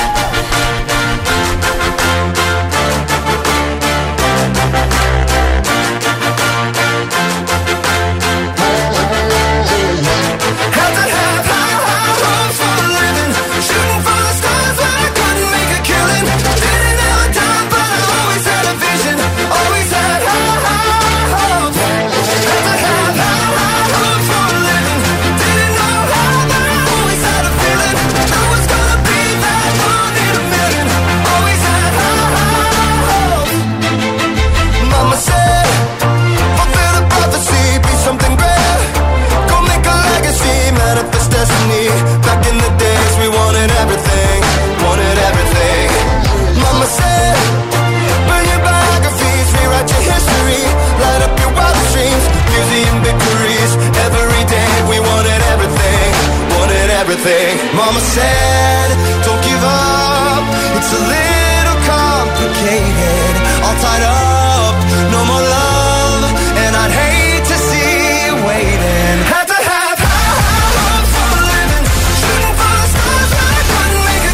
Mama said, don't give up, it's a little complicated, all tied up, no more love, and I'd hate to see you waiting. Had to have high hopes for a living, shooting for the stars, but I couldn't make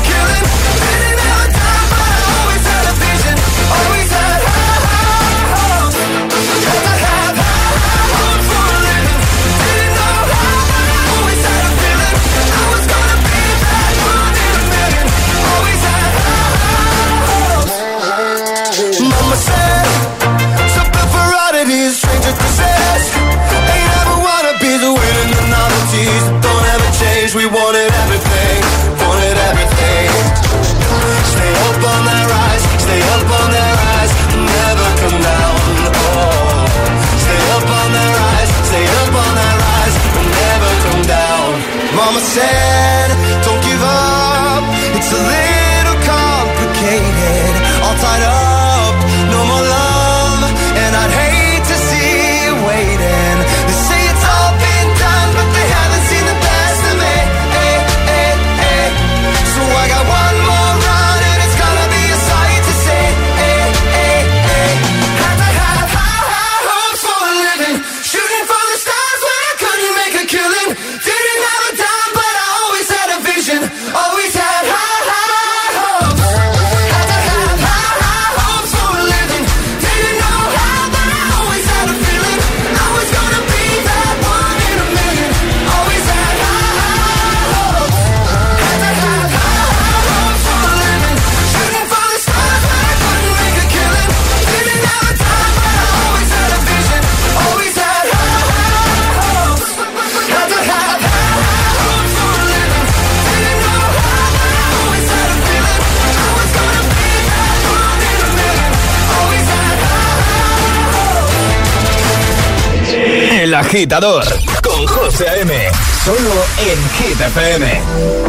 sheets don't ever change. We wanted everything, wanted everything. Stay up on that rise, stay up on that rise, never come down. Oh, stay up on that rise, stay up on that rise, never come down. Mama said, don't give up. It's a little complicated, all tied up, no more love, and I'd hate to see you waiting. They say it's all been done, but they haven't seen the best of me. Hey, hey, hey. So I got one more run, and it's gonna be a sight to see. Hey, hey, hey. Had to have high, high hopes for a living, shooting for the stars when I couldn't make a killing. Didn't have a dime, but I always had a vision, always had high, high hopes. Had to have high, high hopes for a living. Didn't know how, but I always had a feeling I was gonna be that one in a million. Always had high, high hopes. Had to have high, high hopes for a living, shooting for the stars when I couldn't make a killing. Didn't have a time, but I always had a vision, always had high, high hopes. Had to have high, high hopes for a living. Didn't know how, but I always had a feeling I was gonna be that one in a million. Always had high, high hopes.
El Agitador con José A M. Solo en Hit F M.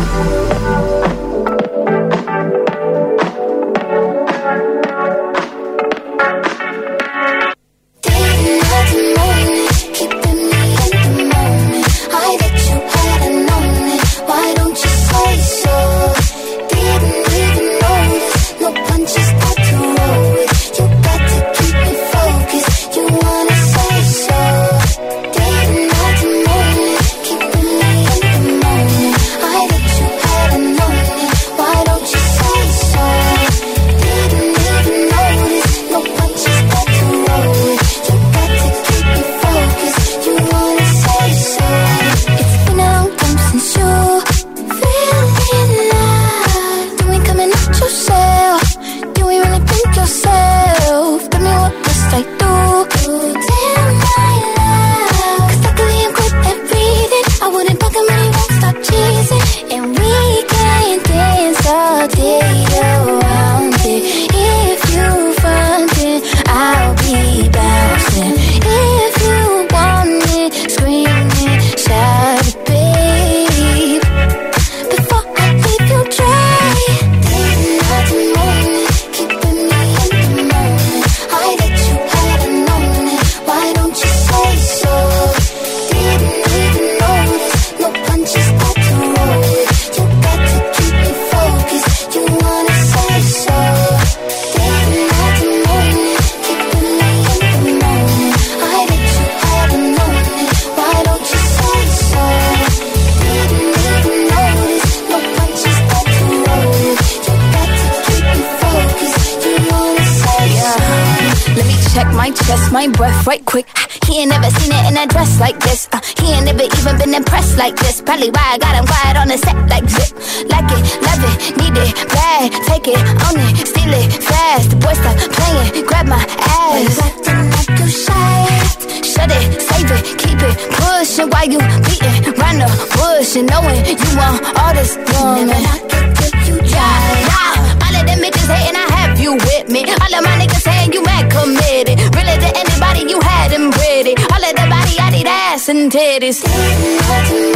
My breath right quick. He ain't never seen it in a dress like this. Uh, he ain't never even been impressed like this. Probably why I got him quiet on the set like zip. Like it, love it, need it, bad. Take it, own it, steal it, fast. The boy stop playing, grab my ass. Acting like you shy. Shut it, save it, keep it pushing while you beating round the bush and knowing you want all this woman. Never knock it till you try. Nah, all of them bitches hating, I have you with me. All of my niggas saying you mad committed. Really to anybody you had them pretty. All of the body, I need ass and titties. Keeping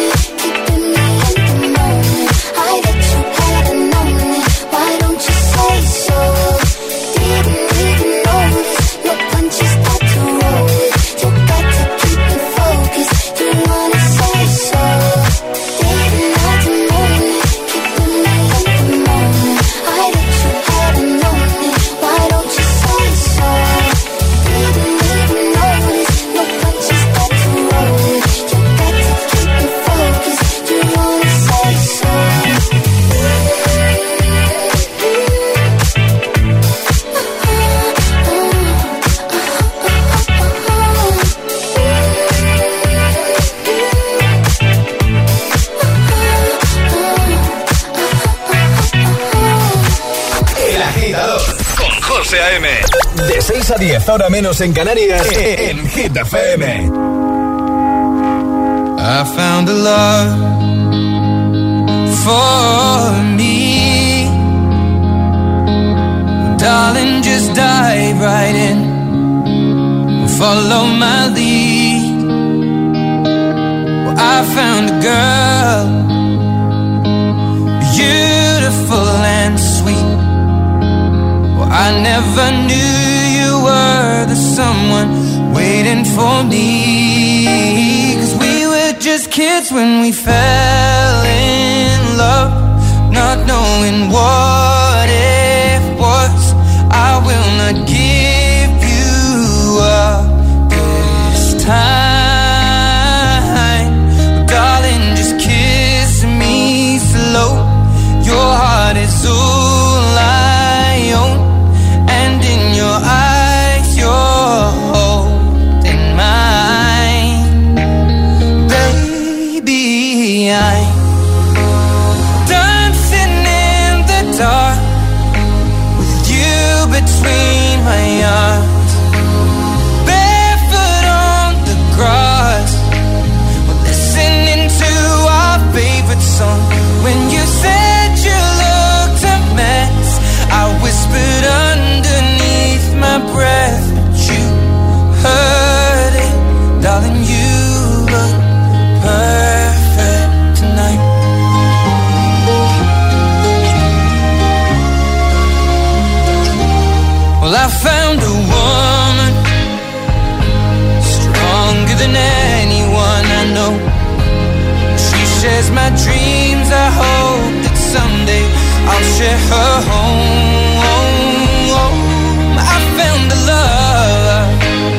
me in the moment. I bet you hadn't known it. Why don't you say so? Didn't even notice. No punches got to roll it. You got to keep it focused. You wanna say so? Didn't have to moan it. Keeping me in the moment. I bet you hadn't known it. Why don't you say so? Didn't even notice. No punches got to roll it. You got to keep it focused. You wanna say so?
El Agitador con José A M. De seis a diez, hora menos en Canarias, en Hit F M.
I found a love for me. Darling, just dive right in, follow my lead. Well, I found a girl, beautiful and sweet. Well, I never knew you were the someone waiting for me. 'Cause we were just kids when we fell in love, not knowing what it was. I will not give you up this time. Darling, just kiss me slow. Your heart is all I own, and in your eyes you're holding mine. Baby, I'm dancing in the dark with you between my arms, barefoot on the grass. We're listening to our favorite song. When you said you looked a mess, I whispered underneath my breath, but you heard it. Darling, you look perfect tonight. Well, I found a woman stronger than anyone I know. She shares my dreams. I hope that someday I'll share her home. I found a love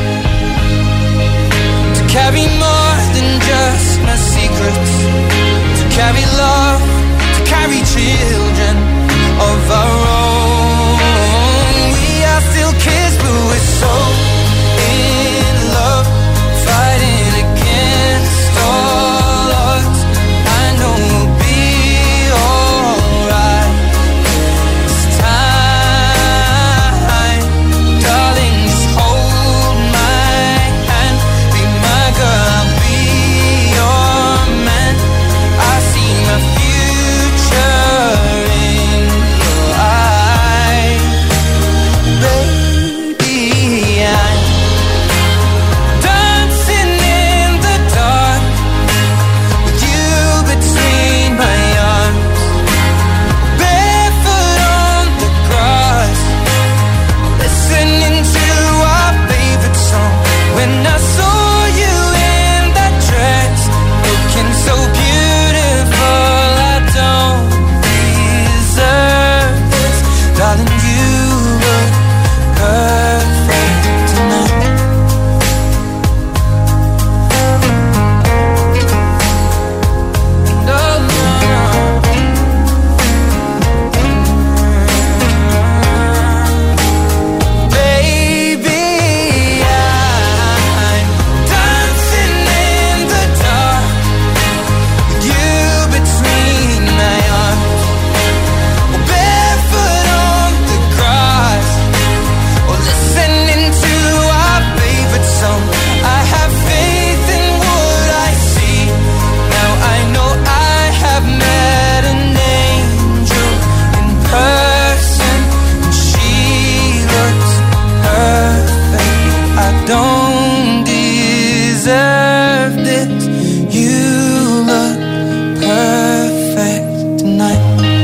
to carry more than just my secrets, to carry love, to carry children of our own. We are still kids, but we're so in love, fighting against all odds. I know we'll be alright this time. Darling, just hold my hand, be my girl, I'll be your man. I see my future in your eyes. Baby, I'm dancing in the dark with you between my arms, barefoot on the grass, listening to our favorite song. When I saw you in that dress, looking so beautiful, I don't deserve this. Darling, you look perfect tonight. No, no, baby, I'm dancing in the dark with you between my arms, barefoot on the grass, or listening to our favorite song. I have faith in what I see. Now I know I have met an angel in person, and she looks perfect. I don't deserve this. You look perfect tonight.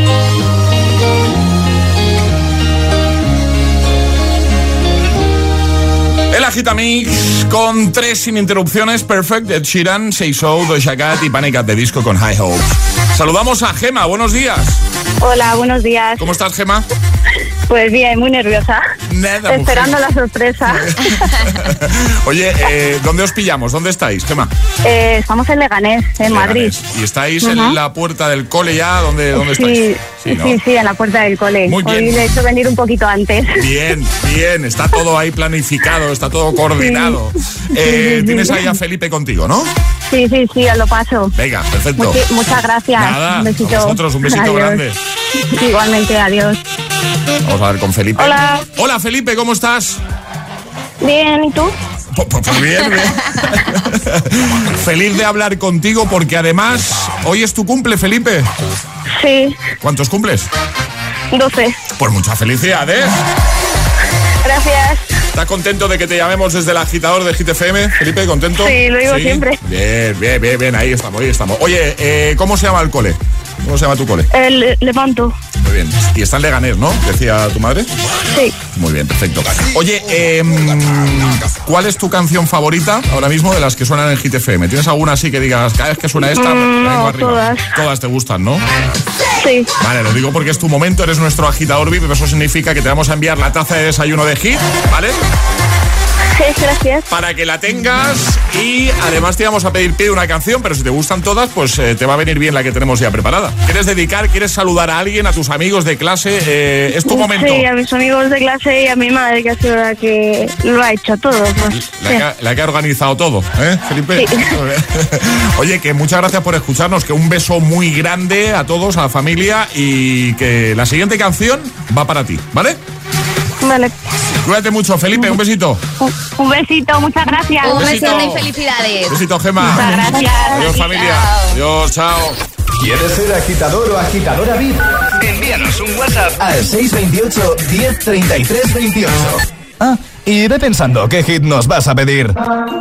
El Agitamix con tres sin interrupciones, Perfect, Ed Sheeran, Say So, Doja Cat y Panic! At the Disco con High Hopes. Saludamos a Gema, buenos días.
Hola, buenos días.
¿Cómo estás, Gema?
Pues bien, muy nerviosa.
Nada,
Esperando
mujer.
la sorpresa.
Oye, eh, ¿dónde os pillamos? ¿Dónde estáis, Gema?
Eh, estamos en Leganés, en Madrid.
¿Y estáis
Ujú.
en la puerta del cole ya? ¿Dónde, dónde
Sí,
estáis?
sí,
¿no?
sí, en la puerta del cole.
Muy bien.
Hoy le he hecho venir un poquito antes.
Bien, bien, está todo ahí planificado, está todo coordinado. Eh,
Sí, sí,
tienes
sí.
ahí a Felipe contigo, ¿no?
Sí, sí, sí, os lo paso.
Venga, perfecto.
Muchi- muchas gracias.
Nada,
un besito.
a vosotros, un besito
Adiós.
grande.
Igualmente, adiós.
Vamos a ver con Felipe.
Hola.
Hola, Felipe, ¿cómo estás?
Bien, ¿y tú?
Pues, pues bien, bien. Feliz de hablar contigo porque además hoy es tu cumple, Felipe.
Sí.
¿Cuántos cumples?
doce.
Pues muchas felicidades.
Gracias.
¿Estás contento de que te llamemos desde el agitador de Hit F M, Felipe? ¿Contento?
Sí, lo digo ¿Sí? siempre.
Bien, bien, bien, bien, ahí estamos, ahí estamos. Oye, eh, ¿cómo se llama el cole? ¿Cómo se llama tu cole?
El Lepanto.
Muy bien. Y está en Leganés, ¿no? Decía tu madre.
Sí.
Muy bien, perfecto. Oye, eh, ¿cuál es tu canción favorita ahora mismo de las que suenan en Hit F M? ¿Tienes alguna así que digas, cada vez que suena esta,
mm,
me vengo
no,
arriba?
Todas.
Todas te gustan, ¿no?
Sí.
Vale, lo digo porque es tu momento, eres nuestro agitador V I P, eso significa que te vamos a enviar la taza de desayuno de Hit, ¿vale?
Sí, gracias.
Para que la tengas y además te vamos a pedir pide una canción, pero si te gustan todas, pues eh, te va a venir bien la que tenemos ya preparada. ¿Quieres dedicar, quieres saludar a alguien, a tus amigos de clase? Eh, es tu momento.
Sí, a mis amigos de clase y a mi madre, que ha sido la que lo ha hecho todo. Pues,
la, que ha, la que ha organizado todo, ¿eh, Felipe?
Sí.
Oye, que muchas gracias por escucharnos, que un beso muy grande a todos, a la familia y que la siguiente canción va para ti, ¿vale?
Vale.
Cuídate mucho, Felipe, un besito.
Un, un besito, muchas gracias.
Un besito y felicidades.
Un besito, Gemma.
Muchas gracias.
Adiós, familia. Adiós, chao.
¿Quieres ser agitador o agitadora V I P? Envíanos un WhatsApp al seis dos ocho, diez, treinta y tres, veintiocho. Ah, y ve pensando qué hit nos vas a pedir.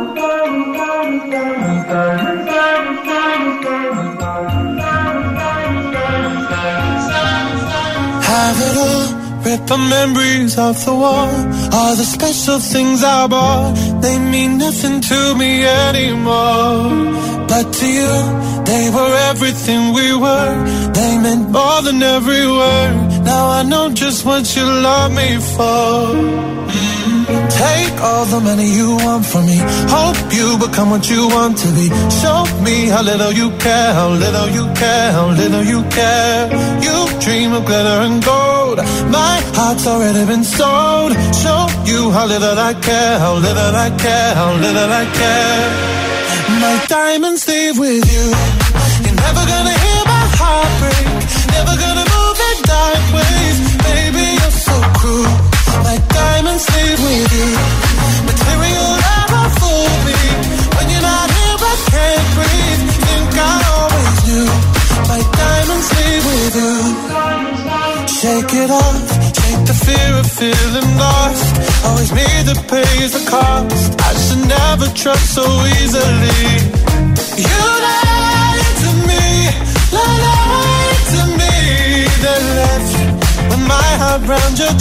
Rip the memories of the war. All the special things I bought, they mean nothing to me anymore. But to you, they were everything we were. They meant more than every word. Now I know just what you love me for. Mm-hmm. Take all the money you want from me. Hope you become what you want to be. Show me how little you care, how little you care, how little you care. You dream of glitter and gold. My heart's already been sold. Show you how little I care, how little I care, how little I care. My diamonds leave with you. You're never gonna hear my heart break. Never gonna move in dark ways. Baby, you're so cruel. My diamonds leave with you. Material never fool me. When you're not here, I can't breathe. Think I always knew. My diamonds leave with you. Shake it off, shake the fear of feeling lost. Always me that pays the cost. I should never trust so easily. You lied to me, lied to me. Then left with my heart round your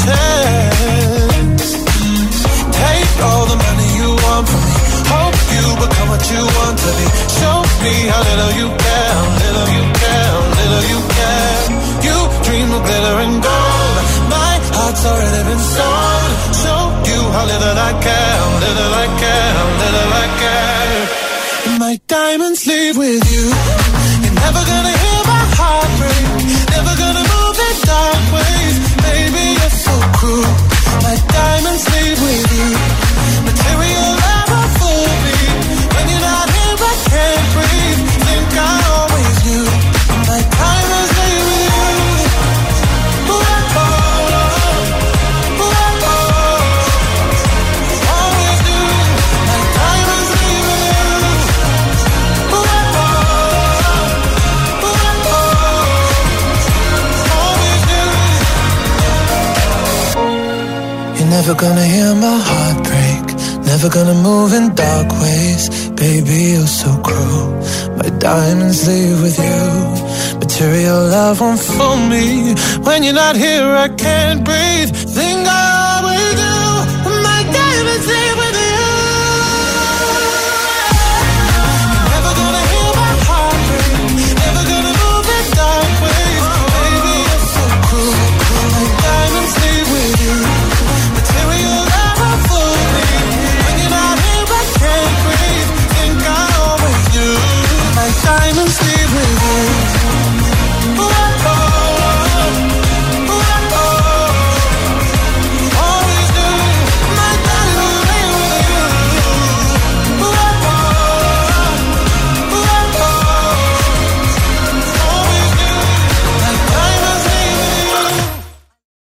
chest. Take all the money you want from me. Hope you become what you want to be. Show me how little you care, how little you care, how little you care. You dream of glitter and gold. My heart's already been sold. Show you how little I care, how little I care, how little I care. My diamonds leave with you. You're never gonna hear my heart break. Never gonna move in dark ways. Baby, you're so cruel. My diamonds leave with you. Material never fool me. When you're not here, I can't breathe. Think I always knew. My diamonds leave with you. Never gonna hear my heart break. Never gonna move in dark ways. Baby, you're so cruel. My diamonds leave with you. Material love won't fool me. When you're not here, I can't breathe. Think I